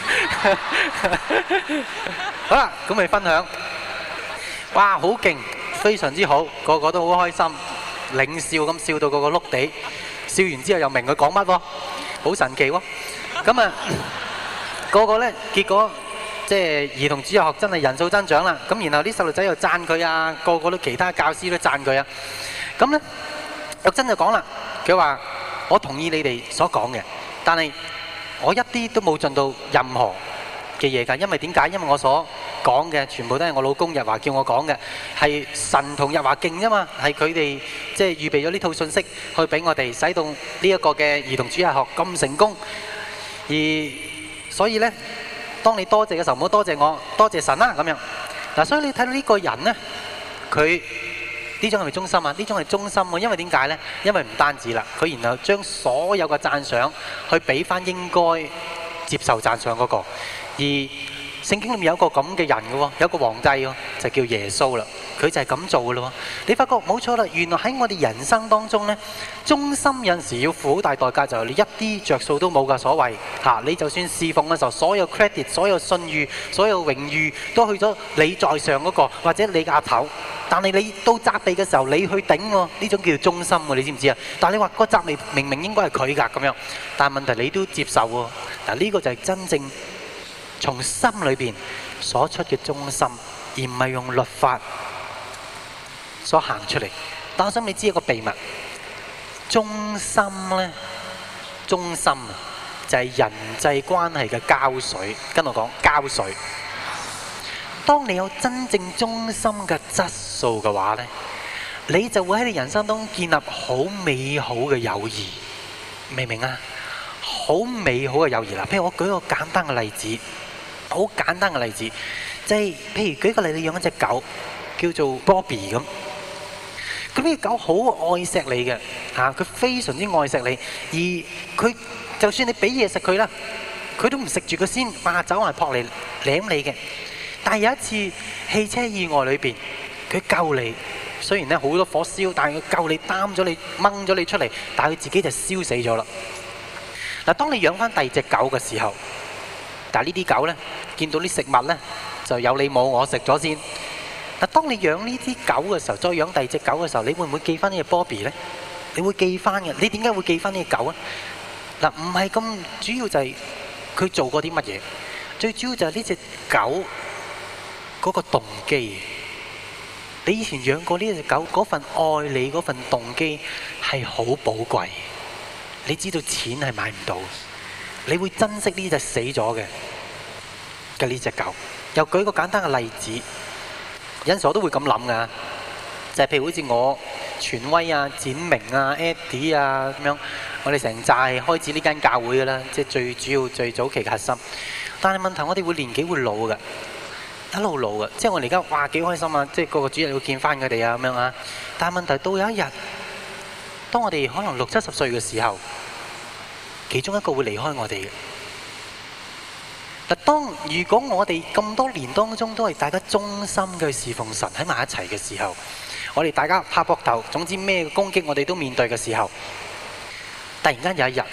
好啦，咁咪分享。哇，好勁，非常之好，個個都好開心，領笑咁笑到個個碌地，笑完之後又明佢講乜喎，好神奇喎。咁啊，個個咧結果即係兒童主日學真係人數增長啦。咁然後啲細路仔又讚佢啊，個個都其他教師都讚佢啊。咁咧，玉珍就講啦，佢話：我同意你哋所講嘅，但係我一啲都冇盡到任何嘅嘢㗎。因為點解？因為我所講嘅全部都係我老公日華叫我講嘅，係神同日華勁啫嘛，係佢哋即係預備咗呢套信息去俾我哋，使到呢一個嘅兒童主日學咁成功。而所以呢，當你多謝嘅時候，唔好多謝我，多謝神啦咁樣。嗱，所以你睇到呢個人呢，佢呢種係咪忠心啊？呢種係忠心喎，因為點解呢？因為唔單止啦，佢然後將所有嘅讚賞去俾翻應該接受讚賞嗰個。而聖經裏面有一個咁嘅人嘅喎，有一個皇帝喎，就叫耶穌啦。佢就係咁做嘅咯。你發覺冇錯啦，原來喺我哋人生當中呢，忠心有陣時要付好大代價，就係你一啲着數都冇㗎。所謂嚇，你就算侍奉嘅時候，所有 credit、所有信譽、所有榮譽都去咗你在上嗰個，或者你嘅阿頭。但係你到責備嘅時候，你去頂喎，呢種叫做忠心喎，你知唔知啊？但係你話個責備明明應該係佢㗎咁樣，但係問題你都接受喎。嗱，呢個就係真正從心裏邊所出嘅忠心，而唔係用律法所行出嚟。但我想你知一個秘密，忠心呢，忠心啊，就係人際關係嘅膠水。跟我講膠水。當你有真正忠心嘅質素嘅話呢，你就會喺你人生當中建立好美好嘅友誼，明唔明啊？好美好嘅友誼啦。譬如我舉個簡單嘅例子，好簡單嘅例子，即係譬如舉個例，你養一隻狗叫做 Bobby 咁，咁呢隻狗好愛錫你嘅嚇，佢非常之愛錫你，而佢就算你俾嘢食佢啦，佢都唔食住佢先，哇走埋撲嚟舐你嘅。但係有一次汽車意外裏邊，佢救你，雖然咧好多火燒，但係佢救你擔咗你掹咗你出嚟，但係佢自己就燒死咗啦。嗱，當你養翻第二隻狗嘅時候，但係呢啲狗咧見到啲食物咧就有你冇我食咗先。嗱，當你養呢啲狗嘅時候，再養第二隻狗嘅時候，你會唔會記翻呢隻 Bobby 咧？你會記翻嘅。你點解會記翻呢隻狗啊？嗱，唔係咁主要就係佢做過啲乜嘢，最主要就係呢隻狗嗰個動機。你以前養過呢隻狗，嗰份愛你嗰份動機係好寶貴。你知道錢係買唔到，你會珍惜呢隻死咗嘅嘅呢隻狗。又舉個簡單嘅例子，有陣時我都會咁諗噶，就係譬如好似我權威啊、展明啊、Eddie 啊咁樣，我哋成扎係開始呢間教會噶啦，即係最主要最早期嘅核心。但係問題我哋會年紀會老嘅。一路路嘅，即係我哋而家哇幾開心啊！即係個個主日要見翻佢哋啊咁樣啊。但係問題到有一日，當我哋可能六七十歲嘅時候，其中一個會離開我哋嘅。嗱，當如果我哋咁多年當中都係大家忠心嘅侍奉神喺埋一齊嘅時候，我哋大家拍膊頭，總之咩攻擊我哋都面對嘅時候，突然間有一日，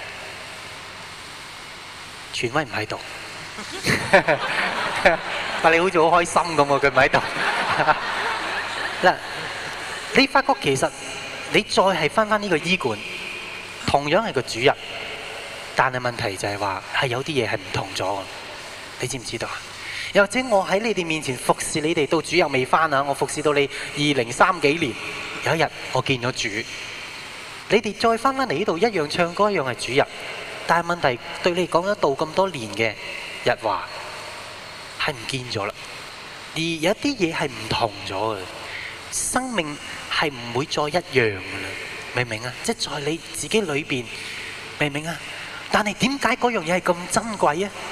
權威唔喺度。但你好似好開心咁喎，佢唔喺度。嗱，你發覺其實你再係翻翻呢個醫館，同樣係個主人，但係問題就係話係有啲嘢係唔同咗。你知唔知道啊？又或者我喺你哋面前服侍你哋到主又未翻啊，我服侍到你二零三幾年，有一日我見咗主，你哋再翻翻嚟呢度一樣唱歌，一樣係主人，但係問題對你講咗道咁多年嘅日華係唔見咗啦，而有啲嘢係唔同咗嘅，生命係唔會再一樣嘅啦，明唔明啊？即係在你自己裏邊，明唔明啊？但係點解嗰樣嘢係咁珍貴啊？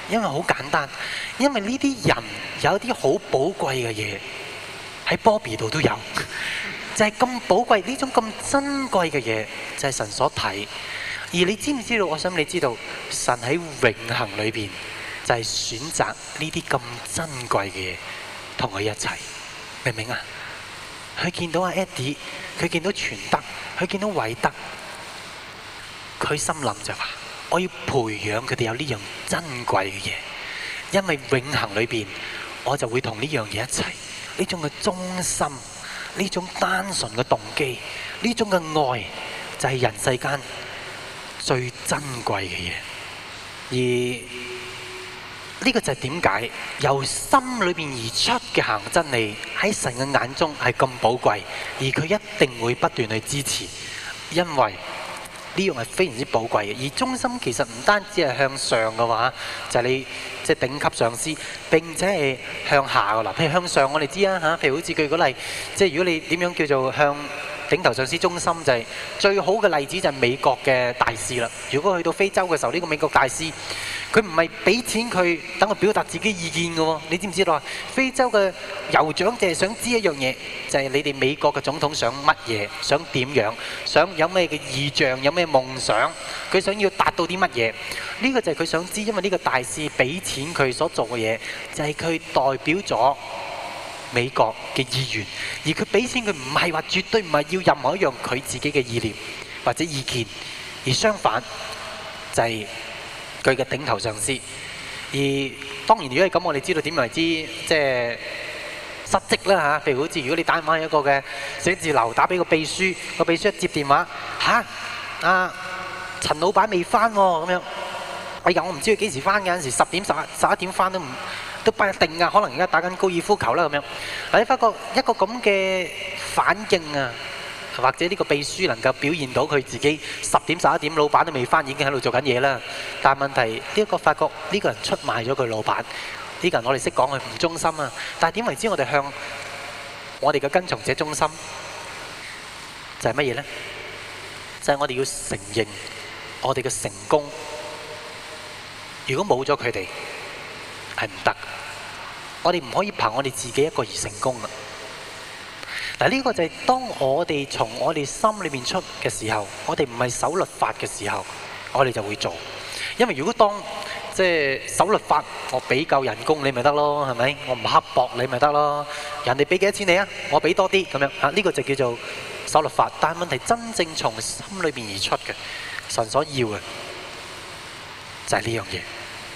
因為好簡單，因為呢啲人有啲好寶貴嘅嘢喺波比度都有，就係咁寶貴，呢種咁珍貴嘅嘢就係神所睇。而你知唔知道？我想你知道，神喺永恆裏邊就係選擇呢啲咁珍貴嘅嘢同佢一齊，明唔明啊？佢見到阿 Eddie， 佢見到全德，佢見到偉德，佢心諗就話：我要培養佢哋有呢樣珍貴嘅嘢，因為永恆裏邊我就會同呢樣嘢一齊。呢種嘅忠心，呢種單純嘅動機，呢種嘅愛，就係人世間最珍貴嘅嘢。而呢個就係點解由心裏邊而出嘅行真理喺神嘅眼中係咁寶貴，而佢一定會不斷去支持，因為呢樣係非常之寶貴嘅。而忠心其實唔單止係向上嘅話，就係你即係頂級上司，並且係向下嘅啦。譬如向上，我哋知啊嚇，譬如好似舉個例，即係如果你點樣叫做向頂頭上司忠心，就係最好嘅例子就係美國嘅大使啦。如果去到非洲嘅時候，呢個美國大使佢唔係俾錢佢等佢表達自己意見嘅喎，你知唔知道啊？非洲嘅酋長就係想知一樣嘢，就係你哋美國嘅總統想乜嘢，想點樣，想有咩嘅意象，有咩夢想，佢想要達到啲乜嘢？呢個就係佢想知，因為呢個大使俾錢佢所做嘅嘢，就係佢代表咗美國嘅意願，而佢俾錢佢唔係話絕對唔係要任何一樣佢自己嘅意念或者意見，而相反就係佢嘅頂頭上司。而當然如果係咁，我哋知道點為之即係失職啦嚇。譬如好似如果你打電話去一個嘅寫字樓，打俾個秘書，個秘書一接電話，嚇啊陳老闆未翻喎咁樣。哎呀，我唔知佢幾時翻嘅，有陣時十點十十一點翻都唔都不一定㗎，可能而家打緊高爾夫球啦咁樣。你發覺一個咁嘅反應啊，或者呢個秘書能夠表現到佢自己十點十一點老闆都未翻，已經喺度做緊嘢啦。但係問題呢一個發覺呢個人出賣咗佢老闆，呢個人我哋識講佢唔忠心啊。但係點為之我哋向我哋嘅跟從者忠心？就係乜嘢呢？就係我哋要承認我哋嘅成功，如果冇咗佢哋係唔得。我哋唔可以憑我哋自己一個而成功啊！嗱，呢個就係當我哋從我哋心裏面出嘅時候，我哋唔係守律法嘅時候，我哋就會做。因為如果當即係守律法，我俾夠人工你咪得咯，係咪？我唔刻薄你咪得咯。人哋俾幾多錢你啊？我俾多啲咁樣啊！呢個就叫做守律法。但係問題真正從心裏邊而出嘅，神所要嘅就係呢樣嘢。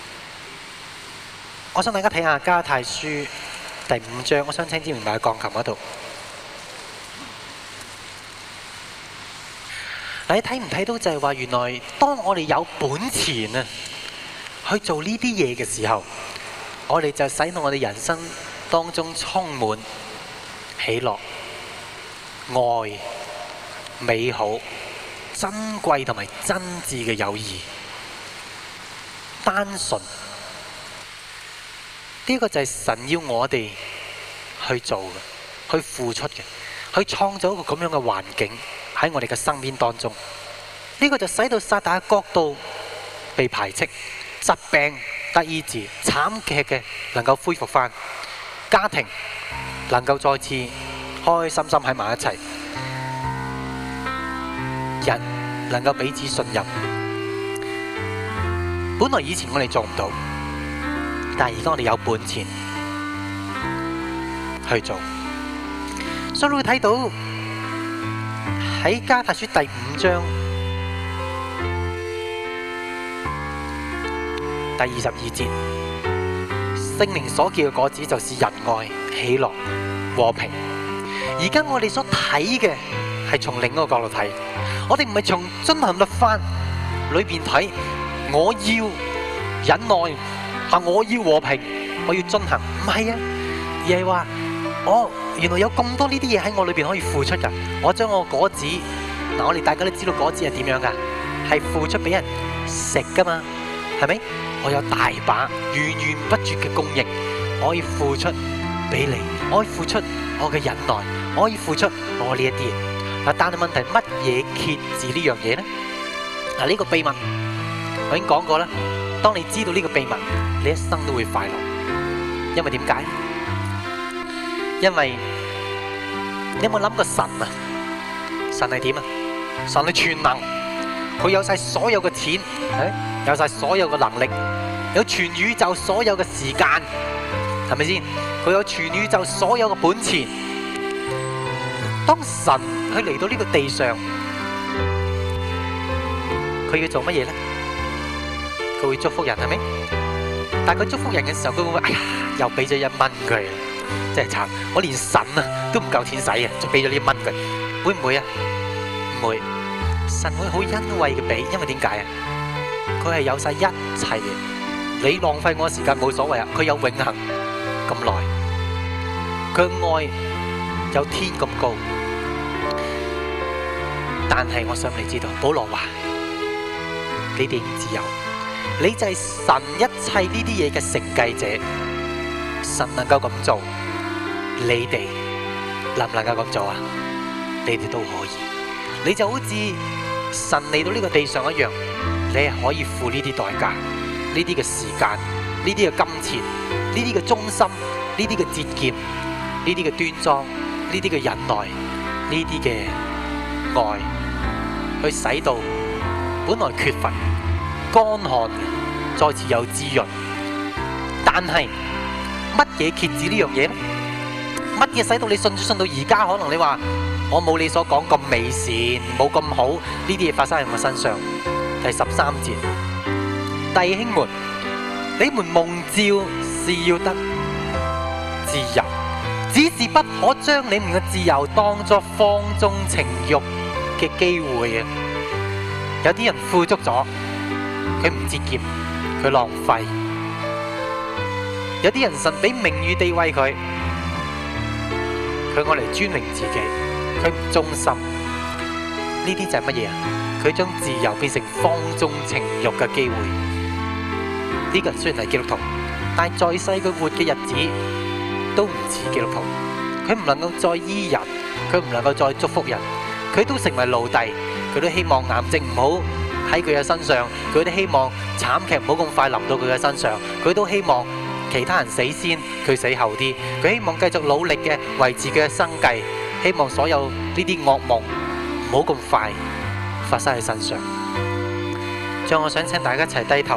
我想大家睇下加拉太書第五章，我想請知明白喺鋼琴嗰度。你睇唔睇到就係話，原來當我哋有本錢啊去做呢啲嘢嘅時候，我哋就使到我哋人生當中充滿喜樂、愛、美好、珍貴同埋真摯嘅友誼、單純。呢個就係神要我哋去做嘅，去付出嘅，去創造一個咁樣嘅環境喺我哋嘅生命當中。呢個就使到撒旦嘅國度被排斥，疾病得醫治，慘劇嘅能夠恢復返，家庭能夠再次開開心心喺埋一齊，人能夠彼此信任。本來以前我哋做唔到，但係而家我哋有本錢去做，所以你會睇到喺加拉太書第五章第二十二節，聖靈所結嘅果子就是仁愛、喜樂、和平。而家我哋所睇嘅係從另一個角度睇，我哋唔係從遵行律法裏邊睇，我要忍耐。啊！我要和平，我要遵行，唔係啊，而係話我原來有咁多呢啲嘢喺我裏邊可以付出噶。我將我果子，嗱，我哋大家都知道果子係點樣噶，係付出俾人食噶嘛，係咪？我有大把源源不絕嘅供應，我可以付出俾你，我可以付出我嘅忍耐，我可以付出我呢一啲嘢。嗱，但係問題乜嘢揭示呢樣嘢咧？嗱，呢個秘密我已經講過啦。 當你知道呢個秘密，你一生都會快樂。因為點解？因為你有冇諗過神啊？神係點啊？神係全能，佢有晒所有嘅錢，有晒所有嘅能力，有全宇宙所有嘅時間，係咪先？佢有全宇宙所有嘅本錢。當神去嚟到呢個地上，佢要做乜嘢咧？佢會祝福人，係咪？但係佢祝福人嘅時候，佢會唔會哎呀，又俾咗一蚊佢，真係慘！我連神啊都唔夠錢使啊，就俾咗呢一蚊佢，會唔會啊？唔會，神會好欣慰嘅俾，因為點解啊？佢係有晒一切嘅，你浪費我時間冇所謂啊！佢有永恆咁耐，佢嘅愛有天咁高。但係我想你知道，保羅話：你哋唔自由，你就係神一切呢啲嘢嘅承繼者。神能夠咁做，你哋能唔能夠咁做啊？你哋都可以。你就好似神嚟到呢個地上一樣，你係可以付呢啲代價，呢啲嘅時間，呢啲嘅金錢，呢啲嘅忠心，呢啲嘅節儉，呢啲嘅端莊，呢啲嘅忍耐，呢啲嘅愛，去使到本來缺乏、乾旱嘅再次有滋潤。但係乜嘢遏止呢樣嘢咧？乜嘢使到你信信到而家？可能你話我冇你所講咁美善，冇咁好，呢啲嘢發生喺我身上。第十三節，弟兄們，你們蒙召是要得自由，只是不可將你們嘅自由當作放縱情慾嘅機會啊！有啲人富足咗，佢唔節儉，佢浪費；有啲人神俾名譽地位佢，佢愛嚟尊榮自己，佢唔忠心。呢啲就係乜嘢啊？佢將自由變成放縱情慾嘅機會。呢個人雖然係基督徒，但係在世佢活嘅日子都唔似基督徒。佢唔能夠再醫人，佢唔能夠再祝福人，佢都成為奴隸。佢都希望癌症唔好喺佢嘅身上，佢都希望慘劇唔好咁快臨到佢嘅身上，佢都希望其他人死先，佢死後啲。佢希望繼續努力嘅維持佢嘅生計，希望所有呢啲噩夢唔好咁快發生喺身上。最後我想請大家一齊低頭，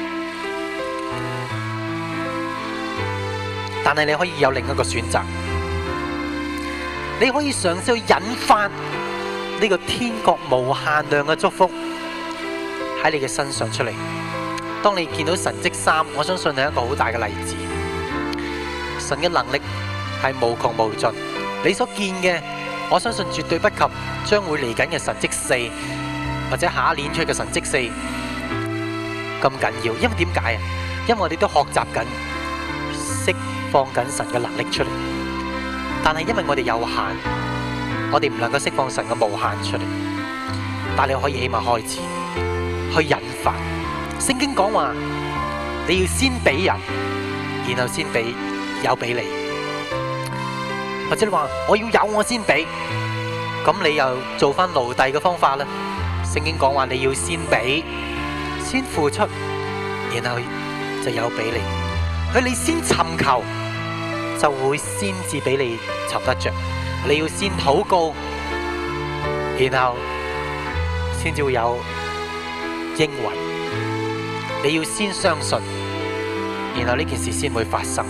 但係你可以有另一個選擇，你可以嘗試去引發呢個天國無限量嘅祝福喺你嘅身上出嚟。當你見到神蹟三，我相信係一個好大嘅例子。神嘅能力係無窮無盡，你所見嘅，我相信絕對不及將會嚟緊嘅神蹟四，或者下一年出嘅神蹟四咁緊要。因為點解啊？因為我哋都學習緊釋放緊神嘅能力出嚟，但係因為我哋有限。我哋唔能夠釋放神嘅無限出嚟，但你可以起碼開始去引發。聖經講話，你要先俾人，然後先俾有俾你。或者你話我要有我先俾，咁你又做翻奴隸嘅方法啦。聖經講話你要先俾，先付出，然後就有俾你。佢你先尋求，就會先至俾你尋得着。你要先禱告，然後先至會有應允。你要先相信，然後呢件事先會發生。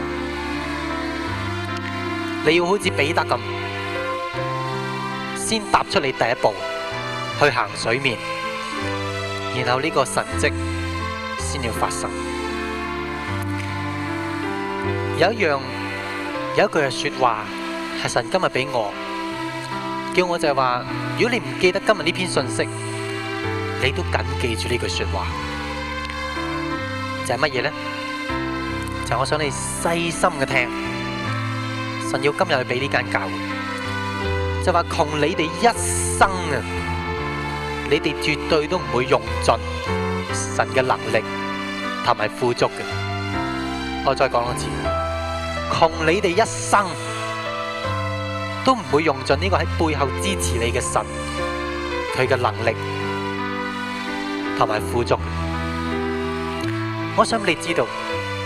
你要好似彼得咁，先踏出你第一步去行水面，然後呢個神蹟先要發生。有一樣，有一句嘅說話。係神今日俾我，叫我就係話，如果你唔記得今日呢篇信息，你都緊記住呢句說話，就係乜嘢呢？就係我想你細心嘅聽，神要今日去俾呢間教會，就話窮你哋一生啊，你哋絕對都唔會用盡神嘅能力同埋富足嘅。我再講多次，窮你哋一生。都唔會用盡呢個喺背後支持你嘅神，佢嘅能力同埋富足。 我想你知道，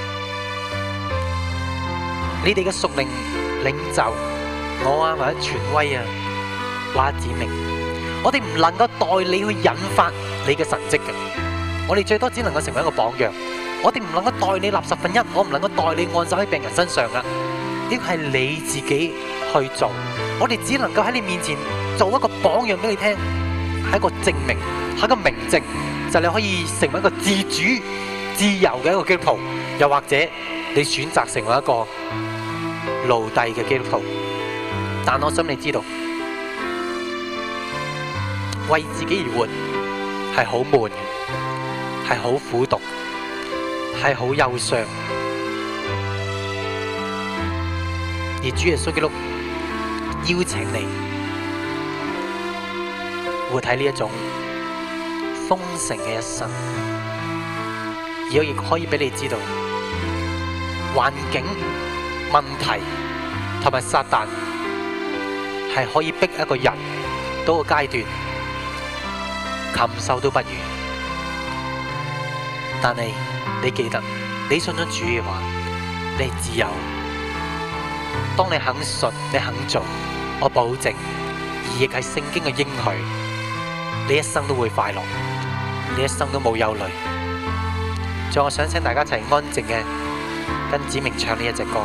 你哋嘅屬靈領袖，我啊或者權威啊，或者指明，我哋唔能夠代你去引發你嘅神蹟嘅，我哋最多只能夠成為一個榜樣。我哋唔能夠代你立十分一，我唔能夠代你按手喺病人身上啊！呢個係你自己去做，我哋只能夠喺你面前做一個榜樣俾你聽，係一個證明，係一個明證，就係你可以成為一個自主、自由嘅一個基督徒，又或者你選擇成為一個奴隸嘅基督徒。但我想你知道，為自己而活係好悶嘅，係好苦毒，係好憂傷，而主耶穌基督邀請你活喺呢一種豐盛嘅一生，而我亦可以俾你知道，環境、問題同埋撒旦係可以逼一個人到個階段，禽獸都不如，但係你記得，你信咗主嘅話，你係自由。當你肯信，你肯做，我保證，而亦係聖經嘅應許，你一生都會快樂，你一生都冇憂慮。最後我想請大家一齊安靜嘅跟子明唱呢一隻歌。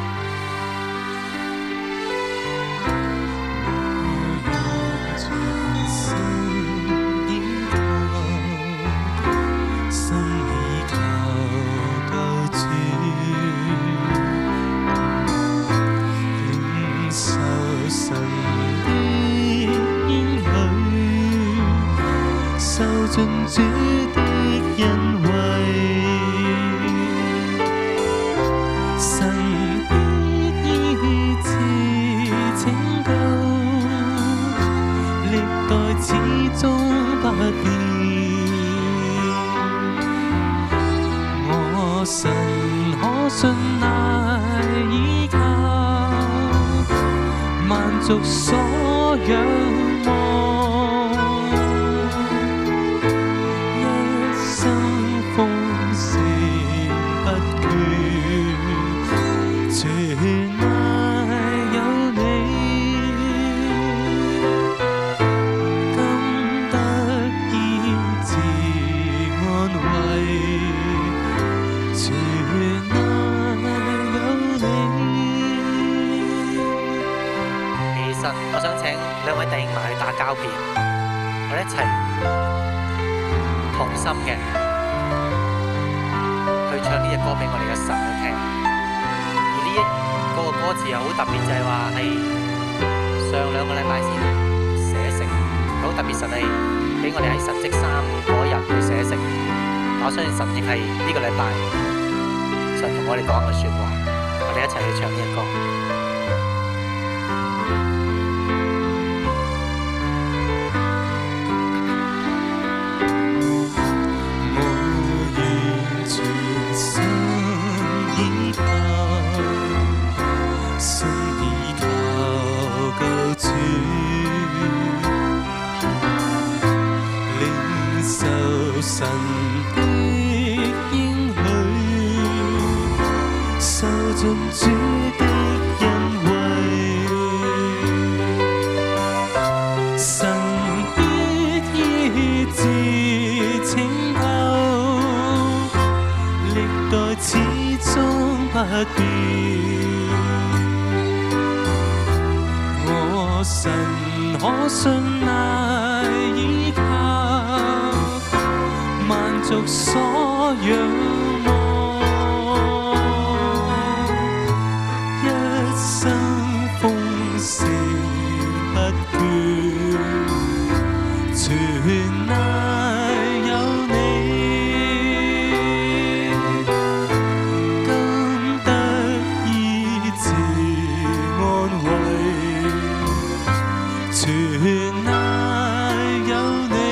主的恩惠，神的醫治拯救，歷代始終不變。我神可信賴依靠，萬族所仰望。 我想請兩位弟兄埋去打交片，我哋一齊同心嘅去唱呢隻歌俾我哋嘅神去聽。而呢一個歌詞又好特別，就係話係上兩個禮拜先寫成，好特別。神係俾我哋喺神蹟三嗰日去寫成。我相信神亦係呢個禮拜神同我哋講嘅說話，我哋一齊去唱呢隻歌。 神的應許，受盡主的恩惠，神的醫治拯救，歷代始終不變。我神可信賴依靠，族所仰望，一生豐盛不倦，全賴有你，今得醫治安慰，全賴有你。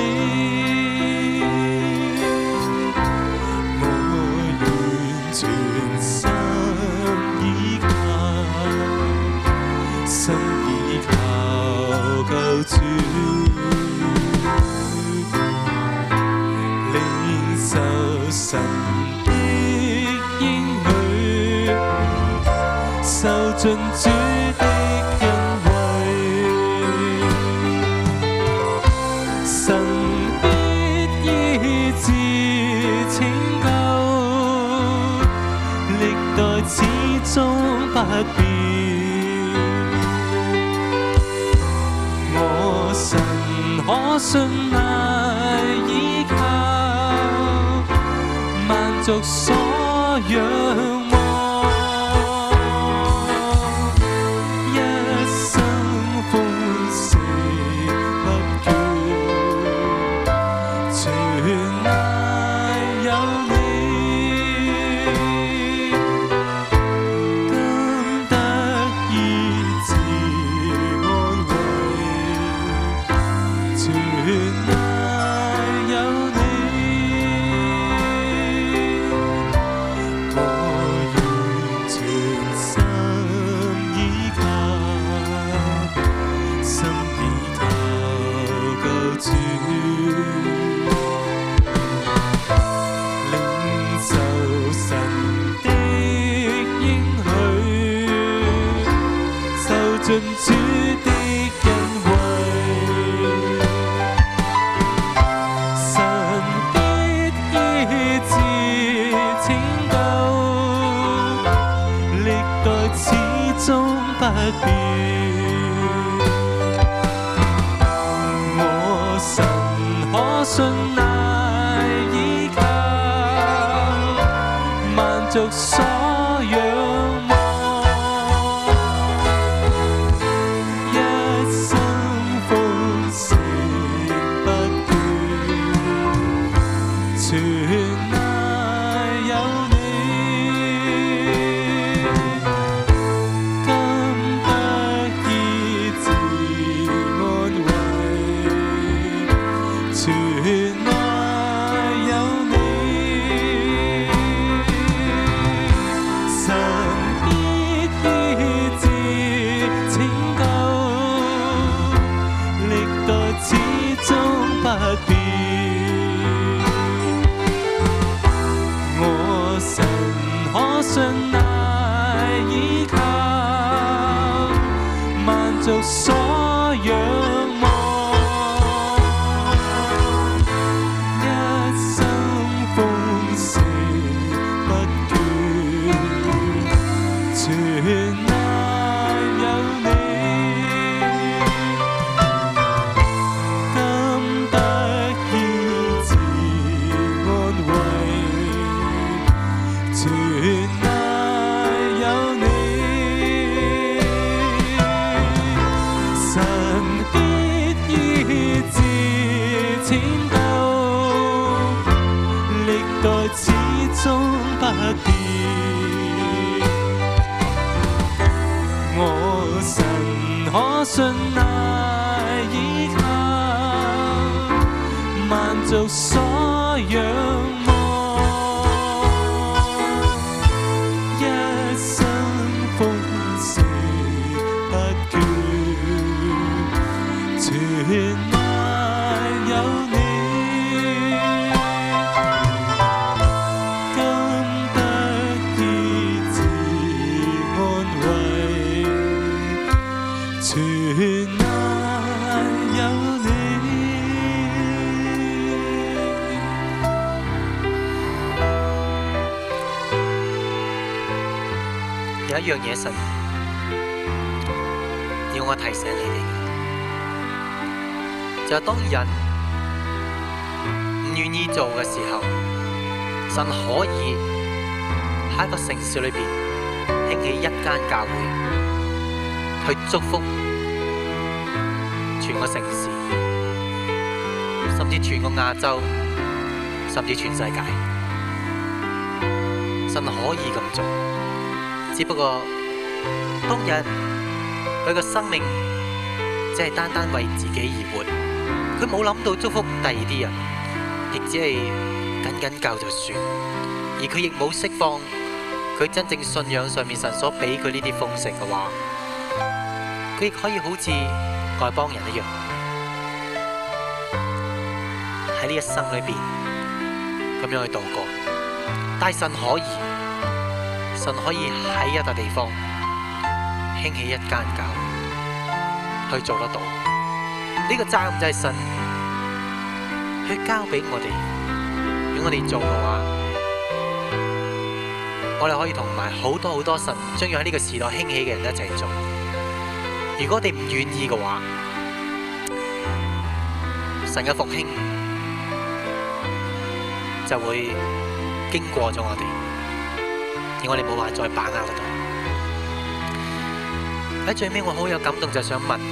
神的變。我神可信賴依靠，萬族所仰望。盡主的恩惠，神必醫治拯救，歷代始終不變。我神可信賴依靠，萬族所仰望。信賴依靠，萬族所仰望，一生豐盛不倦，全賴有你，今得醫治安慰，全始終不變，我神可信賴依靠，萬族所仰望，一生豐盛不倦，全賴有你。 有一樣嘢神要我提醒你哋，就係當人唔願意做嘅時候，神可以喺一個城市裏邊興起一間教會，去祝福全個城市，甚至全個亞洲，甚至全世界。神可以咁做。只不過，當日佢嘅生命只係單單為自己而活，佢冇諗到祝福第二啲人，亦只係緊緊教就算，而佢亦冇釋放佢真正信仰上面神所俾佢呢啲豐盛嘅話，佢亦可以好似外邦人一樣，喺呢一生裏邊咁樣去度過。但係神可以。神可以喺一笪地方興起一間教會，去做得到。呢、這個責任就係神去交俾我哋，如果我哋做嘅話， 我哋可以同埋好多好多神將要喺呢個時代興起嘅人一齊做。如果我哋唔願意嘅話，神嘅復興就會經過咗我哋，而我哋冇話再把握得到。喺最尾我好有感動，就想問，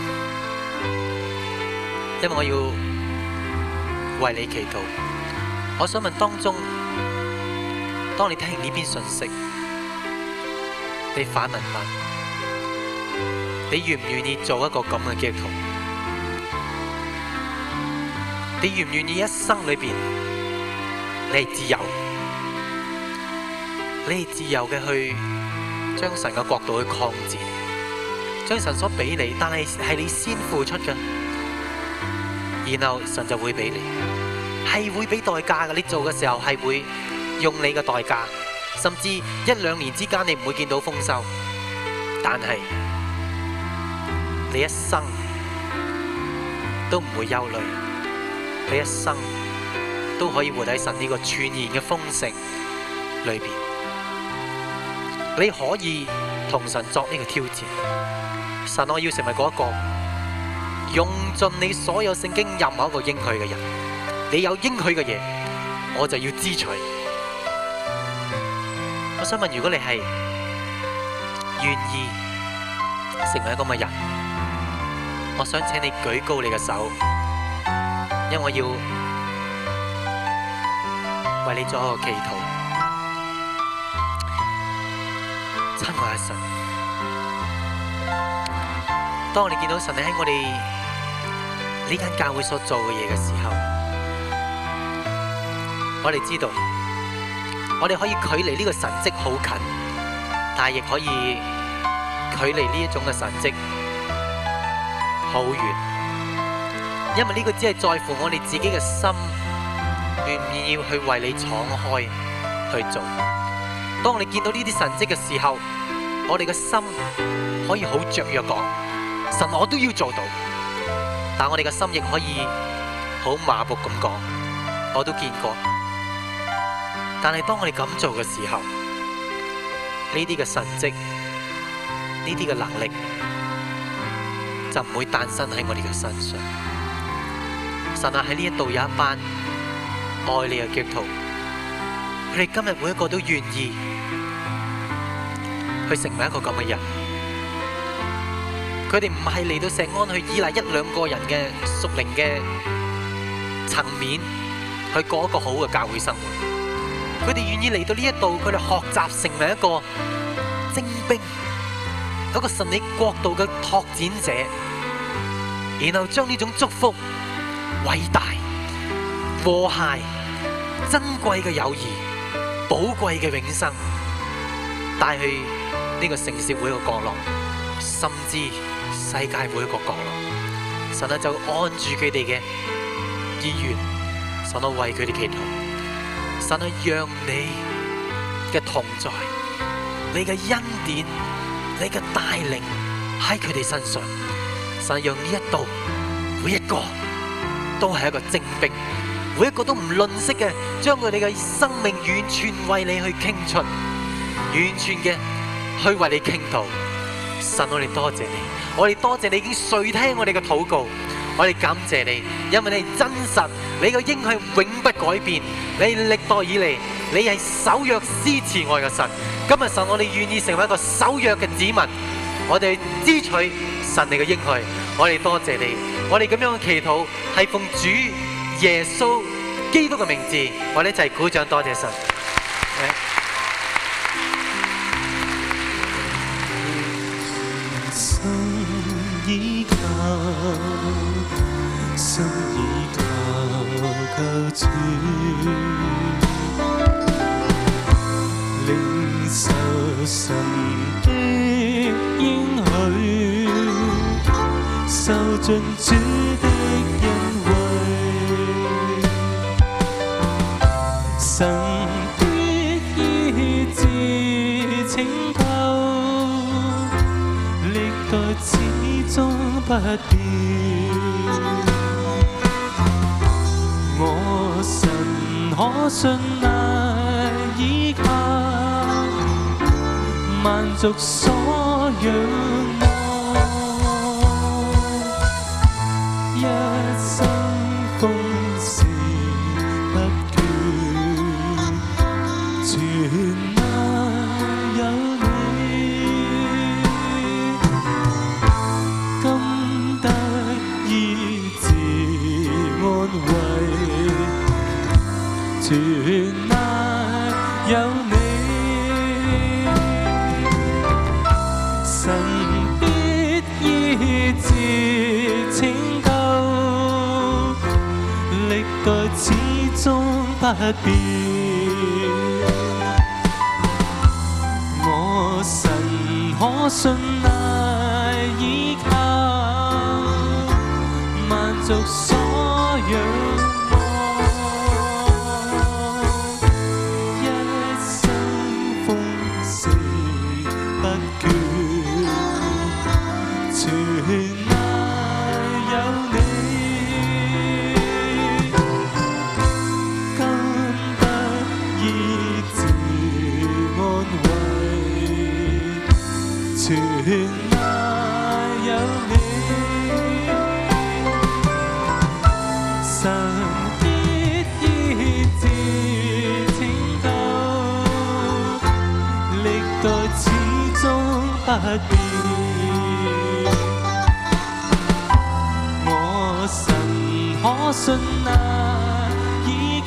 因為我要為你祈禱。我想問當中，當你聽完呢篇信息，你反問翻，你願唔願意做一個咁嘅基督徒？你願唔願意一生裏邊，你係自由，你係自由嘅去將神嘅國度去擴展，將神所俾你，但係係你先付出嘅，然後神就會俾你，係會俾代價嘅。你做嘅時候係會用你嘅代價，甚至一兩年之間你唔會見到豐收，但係你一生都唔會憂慮。你一生都可以活喺神呢個全然嘅豐盛裏邊，你可以同神作呢個挑戰。神，我要成為嗰一個用盡你所有聖經任何一個應許嘅人。你有應許嘅嘢，我就要支取。我想問，如果你係願意成為一個咁嘅人，我想請你舉高你嘅手。因為我要為你做一個祈禱，親愛嘅神，當我哋見到神你喺我哋呢間教會所做嘅嘢嘅時候，我哋知道，我哋可以距離呢個神蹟好近，但係亦可以距離呢一種嘅神蹟好遠。因為呢個只係在乎我哋自己嘅心，願唔願意去為你敞開去做。當我哋見到呢啲神蹟嘅時候，我哋嘅心可以好雀躍講：神，我都要做到。但我哋嘅心亦可以好麻木咁講：我都見過。但係當我哋咁做嘅時候，呢啲嘅神蹟，呢啲嘅能力就唔會誕生喺我哋嘅身上。神啊，喺呢一度有一班愛你嘅基督徒，佢哋今日每一個都願意去成為一個咁嘅人。佢哋唔係嚟到石安去依賴一兩個人嘅屬靈嘅層面去過一個好嘅教會生活。佢哋願意嚟到呢一度，佢哋學習成為一個精兵，一個神你國度嘅拓展者，然後將呢種祝福、偉大、和諧、珍貴嘅友誼、寶貴嘅永生帶去呢個城市每一個角落，甚至世界每一個角落。神啊，就按住佢哋嘅意願，神啊，為佢哋祈禱。神啊，讓你嘅同在、你嘅恩典、你嘅帶領喺佢哋身上。神啊，讓呢一度每一個都係一個精兵，每一個都唔吝嗇嘅，將佢哋嘅生命完全為你去傾出，完全嘅去為你傾吐。神，我哋多謝你，我哋多謝你已經垂聽我哋嘅禱告，我哋感謝你，因為你係真實，你嘅應許永不改變，你歷代以嚟，你係守約施慈愛嘅神。今日神，我哋願意成為一個守約嘅子民，我哋支取神你嘅應許，我哋多謝你。我哋咁樣嘅祈禱係奉主耶穌基督嘅名字，我哋一齊鼓掌，多謝神。 心依靠，心依靠救主，領受神的應許，受盡主的恩惠，神的醫治拯救，歷代始終不變。我神可信賴依靠， 萬族所仰望，一生奉事不倦，全賴有你，今得醫治安慰，全賴有你。神必醫治拯救，歷代始終不變。我神可信賴倚靠，萬族所仰望，一生豐盛不倦。全賴有你，今得醫治安慰，全賴有你，神必醫治拯救，歷代始終不變。神可信賴倚靠，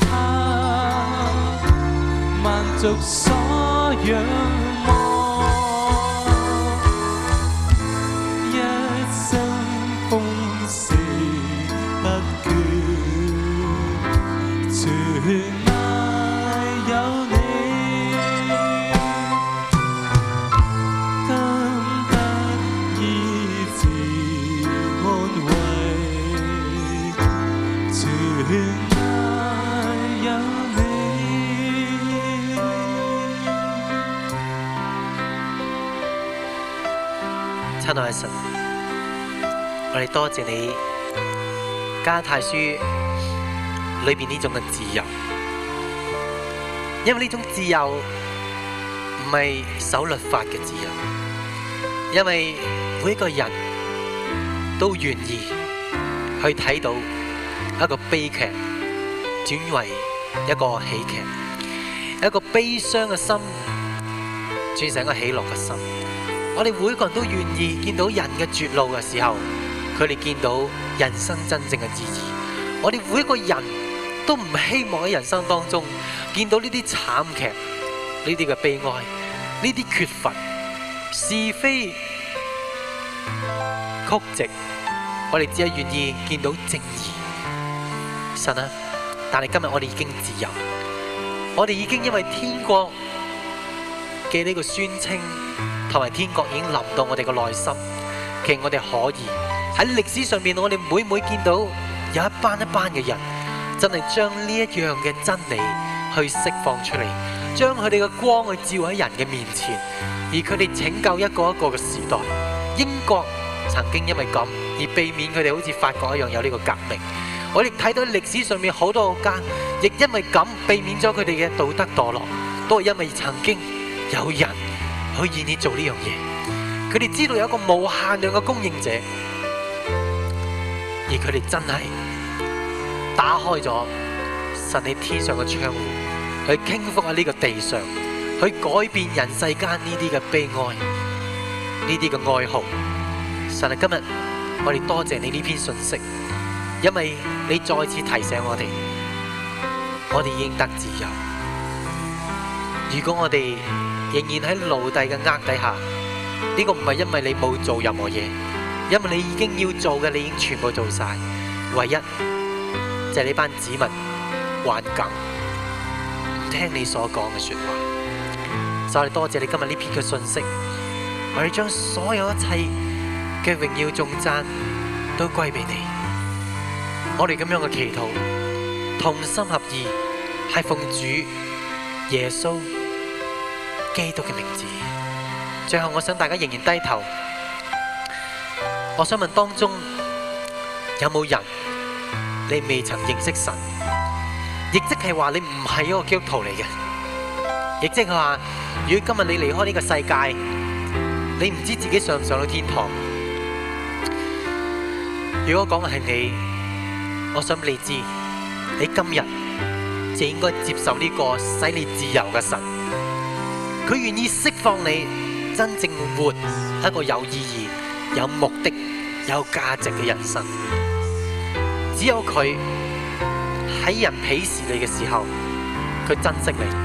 萬族所仰望，一生豐盛不倦，全賴有你，今得醫治安慰。全賴有你， 親愛嘅神，我哋多謝你加太書裏邊呢種嘅自由，因為呢種自由唔係守律法嘅自由，因為每一個人都願意去睇到一個悲劇轉為一個喜劇，一個悲傷嘅心轉成一個喜樂嘅心。我哋每個人都願意見到人嘅絕路嘅時候，佢哋見到人生真正嘅意義。我哋每一個人都唔希望喺人生當中見到呢啲慘劇、呢啲嘅悲哀、呢啲缺乏、是非曲直。我哋只係願意見到正義。神啊，但係今日我哋已經自由，我哋已經因為天國嘅呢個宣稱同埋天國已經臨到我哋嘅內心。其實我哋可以喺歷史上面，我哋每每見到有一班一班嘅人真係將呢一樣嘅真理去釋放出嚟，將佢哋嘅光去照喺人嘅面前，而佢哋拯救一個一個嘅時代。英國曾經因為咁而避免佢哋好似法國一樣有呢個革命。我哋睇到歷史上面好多國家，亦因為咁避免咗佢哋嘅道德墮落，都係因為曾經有人去願意做呢樣嘢。佢哋知道有一個無限量嘅供應者，而佢哋真係打開咗神喺天上嘅窗戶，去傾覆喺呢個地上，去改變人世間呢啲嘅悲哀，呢啲嘅哀號。神啊，今日我哋多謝你呢篇信息。因為你再次提醒我哋，我哋已經得自由。如果我哋仍然喺奴隸嘅軛底下，呢個唔係因為你冇做任何嘢，因為你已經要做嘅，你已經全部做晒。唯一就係呢班子民頑梗，唔聽你所講嘅說話。所以我哋多謝你今日呢篇嘅信息，我哋將所有一切嘅榮耀頌讚都歸俾你。我哋咁樣嘅祈禱，同心合意，係奉主耶穌基督嘅名字。最後，我想大家仍然低頭。我想問當中有冇人你未曾認識神，亦即係話你唔係一個基督徒嚟嘅，亦即係話，如果今日你離開呢個世界， 你唔知自己上唔上到天堂。如果講嘅係你，我想俾你知，你今日就應該接受呢個使你自由嘅神。佢願意釋放你，真正活一個有意義、有目的、有價值嘅人生。只有佢喺人鄙視你嘅時候，佢珍惜你。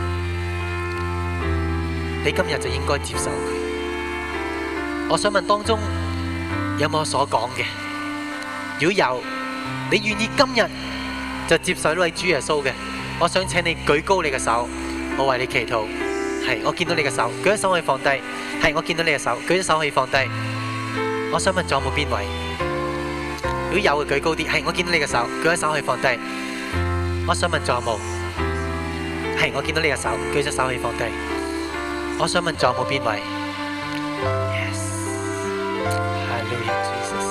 你今日就應該接受佢。我想問當中有冇我所講嘅？如果有，你願意今日就接受呢位主耶穌嘅，我想請你舉高你嘅手，我為你祈禱。係，我見到你嘅手，舉咗手可以放低。係，我見到你嘅手，舉咗手可以放低。我想問仲有冇邊位？如果有嘅舉高啲。係，我見到你嘅手，舉咗手可以放低。我想問仲有冇？係，我見到你嘅手，舉咗手可以放低。我想問仲有冇邊位 ？Yes， Hallelujah Jesus，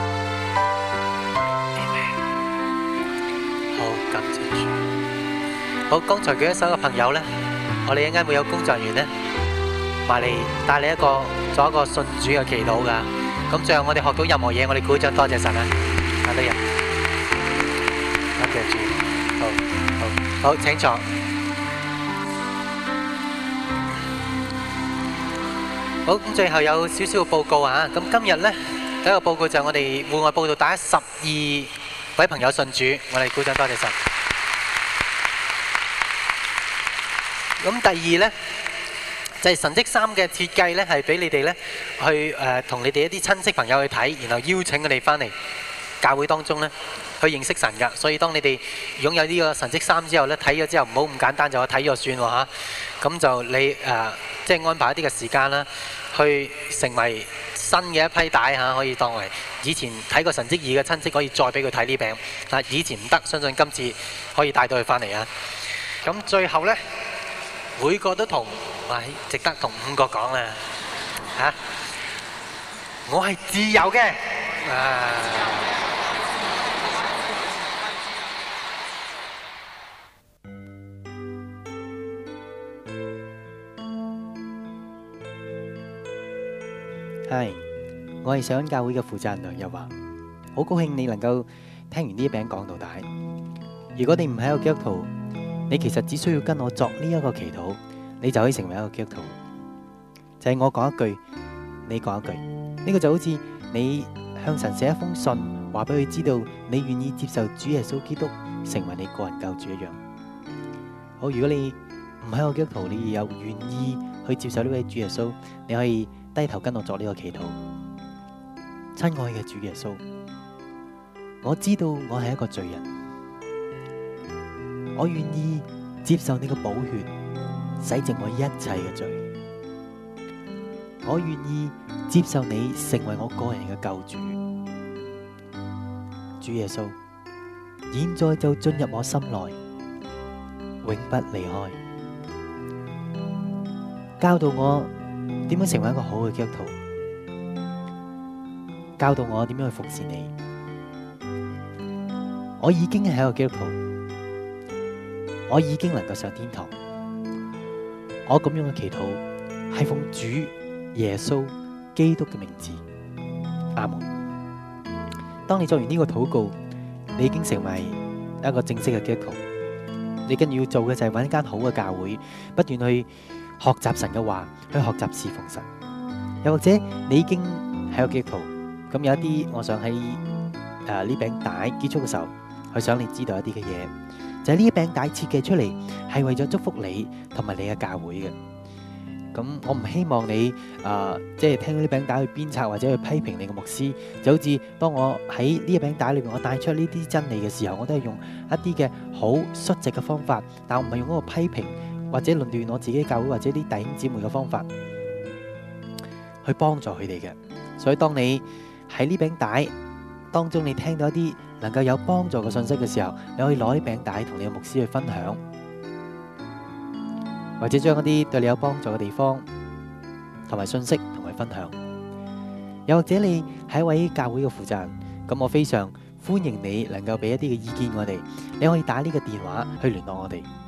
Amen。好，感謝主。好，剛才舉咗手嘅朋友咧，我哋一陣間會有工作人員咧，埋嚟帶你一個做一個信主嘅祈禱噶。咁最後我哋學到任何嘢，我哋鼓掌多謝神啊！阿女人，感謝主。好，好，好，請坐。好，咁最後有少少嘅報告啊！咁今日咧第一個報告就係我哋戶外報道打十二位朋友信主，我哋鼓掌多謝神。咁第二咧就係神蹟衫嘅設計咧，係俾你哋咧去誒同你哋一啲親戚朋友去睇，然後邀請佢哋翻嚟教會當中咧去認識神㗎。所以當你哋擁有呢個神蹟衫之後咧，睇咗之後唔好咁簡單就睇咗算喎嚇。咁就你誒即係安排一啲嘅時間啦，去成為新嘅一批帶嚇，可以當為以前睇過神蹟二嘅親戚可以再俾佢睇呢餅。但係以前唔得，相信今次可以帶到佢翻嚟啊！咁最後咧。每個都同，哇！值得同五個講啦，嚇！我係自由嘅，啊！ 係，我係上恩教會嘅負責人梁日華，好高興你能夠聽完呢一餅講到底。如果你唔係一個基督徒，你其實只需要跟我作呢一個祈禱，你就可以成為一個基督徒。就係我講一句，你講一句，呢個就好似你向神寫一封信，話俾佢知道你願意接受主耶穌基督成為你個人救主一樣。好，如果你唔係一個基督徒，你又願意去接受呢位主耶穌，你可以低頭跟我作呢個祈禱。親愛嘅主耶穌，我知道我係一個罪人。我願意接受你嘅寶血，洗淨我一切嘅罪。我願意接受你成為我個人嘅救主。主耶穌，現在就進入我心內，永不離開。教導我點樣成為一個好嘅基督徒，教導我點樣去服侍你。我已經係一個基督徒。我已經能夠上天堂，我咁樣嘅祈禱係奉主耶穌基督嘅名字，阿門。當你做完呢個禱告，你已經成為一個正式嘅基督徒。你跟住要做嘅就係揾一間好嘅教會，不斷去學習神嘅話，去學習侍奉神。又或者你已經係一個基督徒，咁有一啲，我想喺誒呢餅帶結束嘅時候，去想你知道一啲嘅嘢。就係呢一餅帶設計出嚟，係為咗祝福你同埋你嘅教會嘅。咁我唔希望你誒，即係聽到呢餅帶去鞭策或者去批評你嘅牧師。就好似當我喺呢一餅帶裏面，我帶出呢啲真理嘅時候，我都係用一啲嘅好率直嘅方法，但我唔係用嗰個批評或者論斷我自己教會或者啲弟兄姊妹嘅方法去幫助佢哋嘅。所以當你喺呢餅帶當中，你聽到一啲能夠有幫助嘅信息嘅時候，你可以攞啲餅帶同你嘅牧師去分享，或者將一啲對你有幫助嘅地方同埋信息同佢分享。又或者你係一位教會嘅負責人，咁我非常歡迎你能夠俾一啲嘅意見我哋。你可以打呢個電話去聯絡我哋，